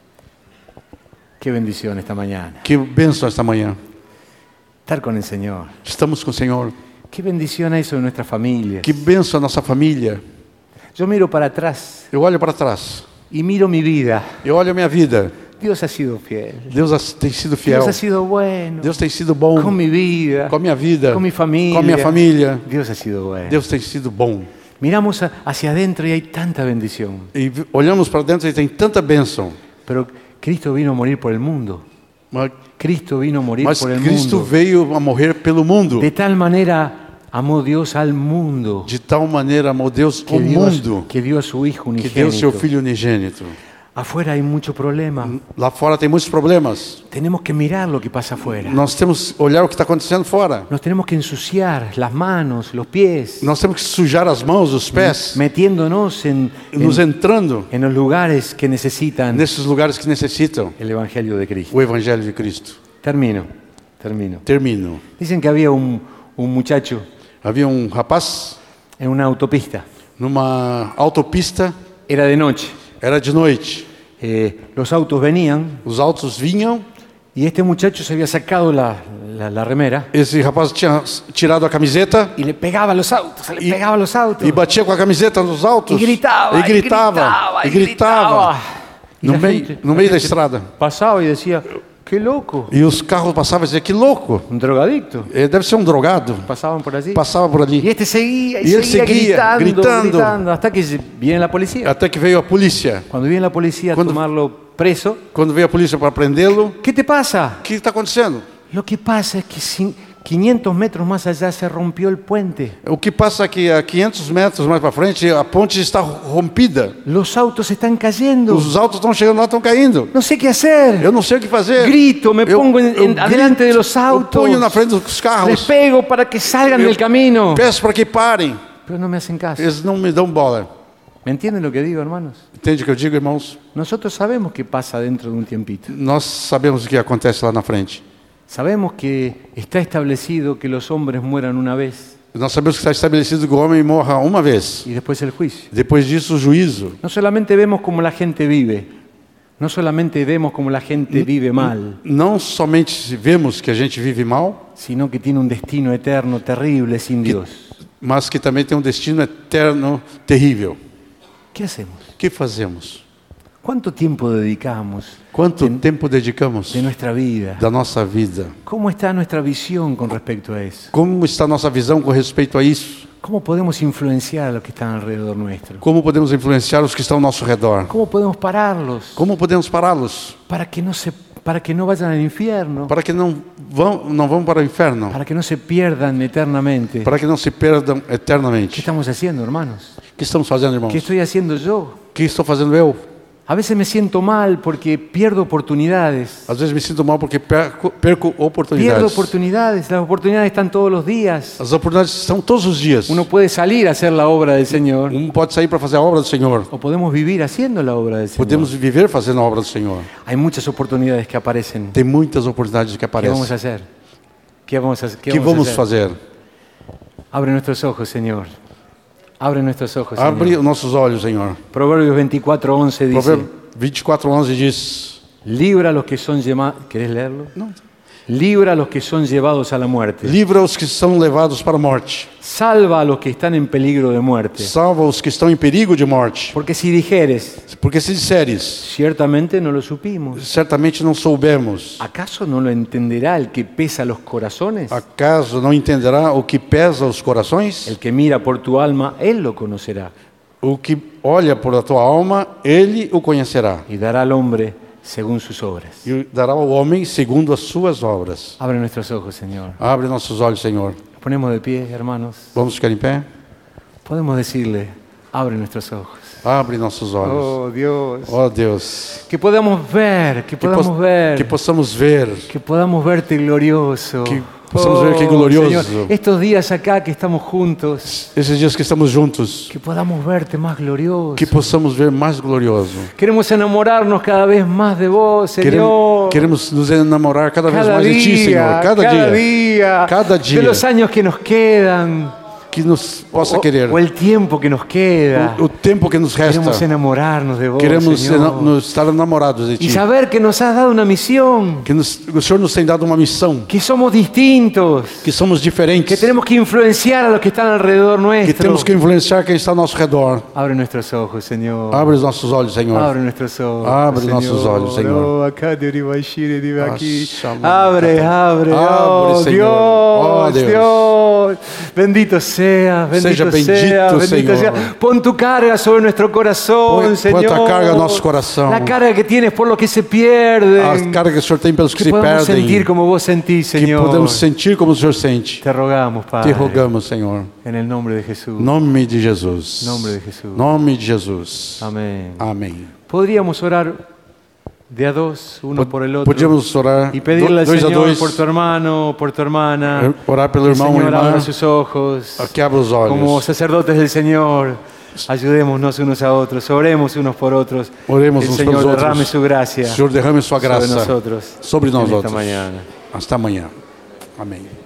Qué bendición esta mañana. Que bênção esta manhã. Estar con el Señor. Estamos com o Senhor. Qué bendición hay sobre nuestra familia. Que bênção a nossa família. Yo miro para atrás Eu olho para trás. y miro mi vida. Eu olho a minha vida. Dios ha sido fiel. Deus ha- tem sido fiel. Dios ha sido bueno. Deus tem sido bom Con mi vida. com a minha vida, Con mi familia. com a minha família. Dios ha sido bueno. Deus tem sido bom. Miramos a- hacia adentro y hay tanta bendición. E vi- olhamos para dentro e tem tanta bênção. Pero Cristo vino a morir por el mundo. Mas, Cristo vino a morir mas por el Cristo mundo. veio a morrer pelo mundo. De tal manera amó Dios al mundo De tal maneira amou Deus que o dio, a, mundo que dio a su Hijo que deu seu unigénito Filho unigênito Afuera hay mucho problema. Lá fora tem muitos problemas. Tenemos que mirar lo que pasa afuera. Nós temos que olhar o que está acontecendo fora. Nos tenemos que ensuciar las manos, los pies, Nós temos que sujar as mãos, os pés, metiéndonos en, nos en, entrando en los lugares que necesitan nesses lugares que necessitam el Evangelio de Cristo. o Evangelho de Cristo. Termino, termino. Termino. Dicen que había un, un muchacho Havia um rapaz en una autopista. numa autopista, Era de noche. era de noite. Eh, los autos venían Os autos vinham, y este muchacho se había sacado la, la, la remera esse rapaz tinha tirado a camiseta y le pegaba a los autos, le Y- pegaba a los autos e batia com a camiseta nos autos. y gritaba, E gritava, y e gritava. Y No la meio, gente- no la meio da gente estrada. pasaba y decía, qué loco, E os carros passavam e diziam, que louco. un drogadicto. Eh, Deve ser um drogado. Pasaban por allí. Passava por Y ali. este seguía y, Y él seguía, seguía, gritando, gritando. gritando, hasta que se- viene la policía. Até que veio a polícia. Cuando viene la policía a Cuando- tomarlo preso, Quando veio a polícia para prendê-lo, ¿qué te pasa? o que está acontecendo? Lo que pasa es que cin- quinientos metros más allá se rompió el puente. O que passa é que a quinhentos metros mais para frente, a ponte está rompida. Los autos están cayendo. Os autos estão chegando lá, estão caindo. No sé qué hacer. Eu não sei o que fazer. Grito, me Eu- pongo en- eu en- adelante de los Eu autos. ponho na frente dos Les carros. pego para que salgan Eu del camino. Peço para que parem. Pero no me hacen caso. Eles não me dão bola. ¿Me entienden lo que digo, hermanos? Entende o que eu digo, irmãos? Nosotros sabemos qué pasa dentro de un tiempito. Nós sabemos o que acontece lá na frente. Sabemos que está establecido que los hombres mueran una vez Nós sabemos que está estabelecido que o homem morra uma vez. y después el juicio. Depois disso, o juízo. No solamente vemos cómo la gente vive, no solamente vemos cómo la gente vive mal, Não somente vemos que a gente vive mal, sino que tiene un destino eterno terrible sin Dios. mas que também tem um destino eterno terrível. ¿Qué hacemos? O que fazemos? ¿Cuánto tiempo dedicamos Quanto de, tempo dedicamos de nuestra vida? da nossa vida? ¿Cómo está nuestra visión con respecto a eso? Como está a nossa visão com respeito a isso? ¿Cómo podemos influenciar a los que están alrededor nuestro? Como podemos influenciar os que estão ao nosso redor? ¿Cómo podemos pararlos Como podemos pará-los? para que no se, para que no vayan al infierno, Para que não vão, não vão para o inferno? para que no se pierdan eternamente? Para que não se perdam ¿Qué eternamente? estamos haciendo, hermanos? O que estamos fazendo, irmãos? ¿Qué estoy haciendo yo? O que estou fazendo eu? A veces me siento mal porque pierdo oportunidades. Às vezes me sinto mal porque perco, perco Pierdo oportunidades. oportunidades. Las oportunidades están todos los días. As oportunidades estão todos os dias. Uno puede salir a hacer la obra del Señor Um pode sair para fazer a obra do Senhor. o podemos vivir haciendo la obra del Señor. Podemos viver fazendo a obra do Senhor. Hay muchas oportunidades que aparecen. Tem muitas oportunidades que ¿Qué vamos a aparecem. hacer? ¿Qué vamos a, O qué que vamos a vamos hacer? fazer? Abre nuestros ojos, Señor. Abre nuestros ojos, Abre Señor. os nossos olhos, Senhor. Proverbios veinticuatro, once dice: Provérbio vinte e quatro, onze diz: Libra a los que son llamados. ¿Querés leerlo? Libra a los que son llevados a la muerte. livra os que são levados para a morte. Salva a los que están en peligro de muerte. Salva os que estão em perigo de morte. Porque si dijeres, Porque se disseres, ciertamente no lo supimos, certamente não soubemos. ¿acaso no lo entenderá el que pesa los corazones? Acaso não entenderá o que pesa os corações? El que mira por tu alma, él lo conocerá. O que olha por a tua alma, ele o conhecerá. Y dará al hombre según sus obras. E dará ao homem segundo as suas obras. Abre nuestros ojos, Señor. Abre nossos olhos, Senhor. Nos ponemos de pie, hermanos. Vamos ficar em pé? Podemos decirle, abre nuestros ojos. Abre nossos olhos. Oh, Dios. Ó Deus, Que podamos ver, que que, podamos pos- ver, que possamos ver, que podamos verte glorioso. Que possamos ver que glorioso. Señor, estos días acá que estamos juntos, esses dias que estamos juntos, que podamos verte más glorioso. que possamos ver mais glorioso. Queremos enamorarnos cada vez más de vos, Señor. Queremos, queremos nos enamorar cada vez cada mais de Ti, Senhor. día, Cada, cada dia. día, Cada dia. de los años que nos quedan, Que nos possa o, querer. o el tiempo que nos queda. O, o tempo que nos Queremos resta. enamorarnos de vos, Queremos Señor. ena- nos estar enamorados de Y Ti. saber que nos has dado una misión, Que nos, o Senhor nos tem dado uma missão. que somos distintos, Que somos que diferentes. tenemos que influenciar a los que están alrededor Que nuestro. temos que influenciar quem está ao nosso redor. Abre nuestros ojos, Señor. Abre os nossos olhos, Senhor. Abre nuestros ojos. Abre Señor. nossos olhos, Senhor. Oh, acá de Uribashiri, de aquí. Ashama- Abre, abre, Abre, oh, Señor. Dios, Oh, Dios. Dios. Bendito sea. seas, bendito Seja bendito, seas, bendito Senhor. seas. Pon tu carga sobre nuestro corazón, Põe- põe Señor. tua carga no nosso coração. La carga que tienes por los que se pierden. A carga que o Senhor tem pelos que, Que se podamos perdem. sentir como vos sentís, Que Señor. podemos sentir como o Senhor sente. Te rogamos, Te Padre. rogamos, Senhor. En el nombre de Jesús. Nome de Jesus. Nome de Jesus. Nome de Jesus. Amén. Amém. Podríamos orar de a dos, uno por el otro. Podíamos orar Y pedirle al dois a Señor dois, por tu hermano, por tu hermana. orar pelo Que el irmão e Señor abra irmã, sus ojos. que abra os olhos. Como sacerdotes del Señor, ayudémonos unos a otros, oremos unos por otros. Oremos Que el uns Señor pelos outros. derrame su gracia Senhor, derrame sua sobre graça nosotros sobre nós en esta outros. mañana. Hasta amanhã. Amém.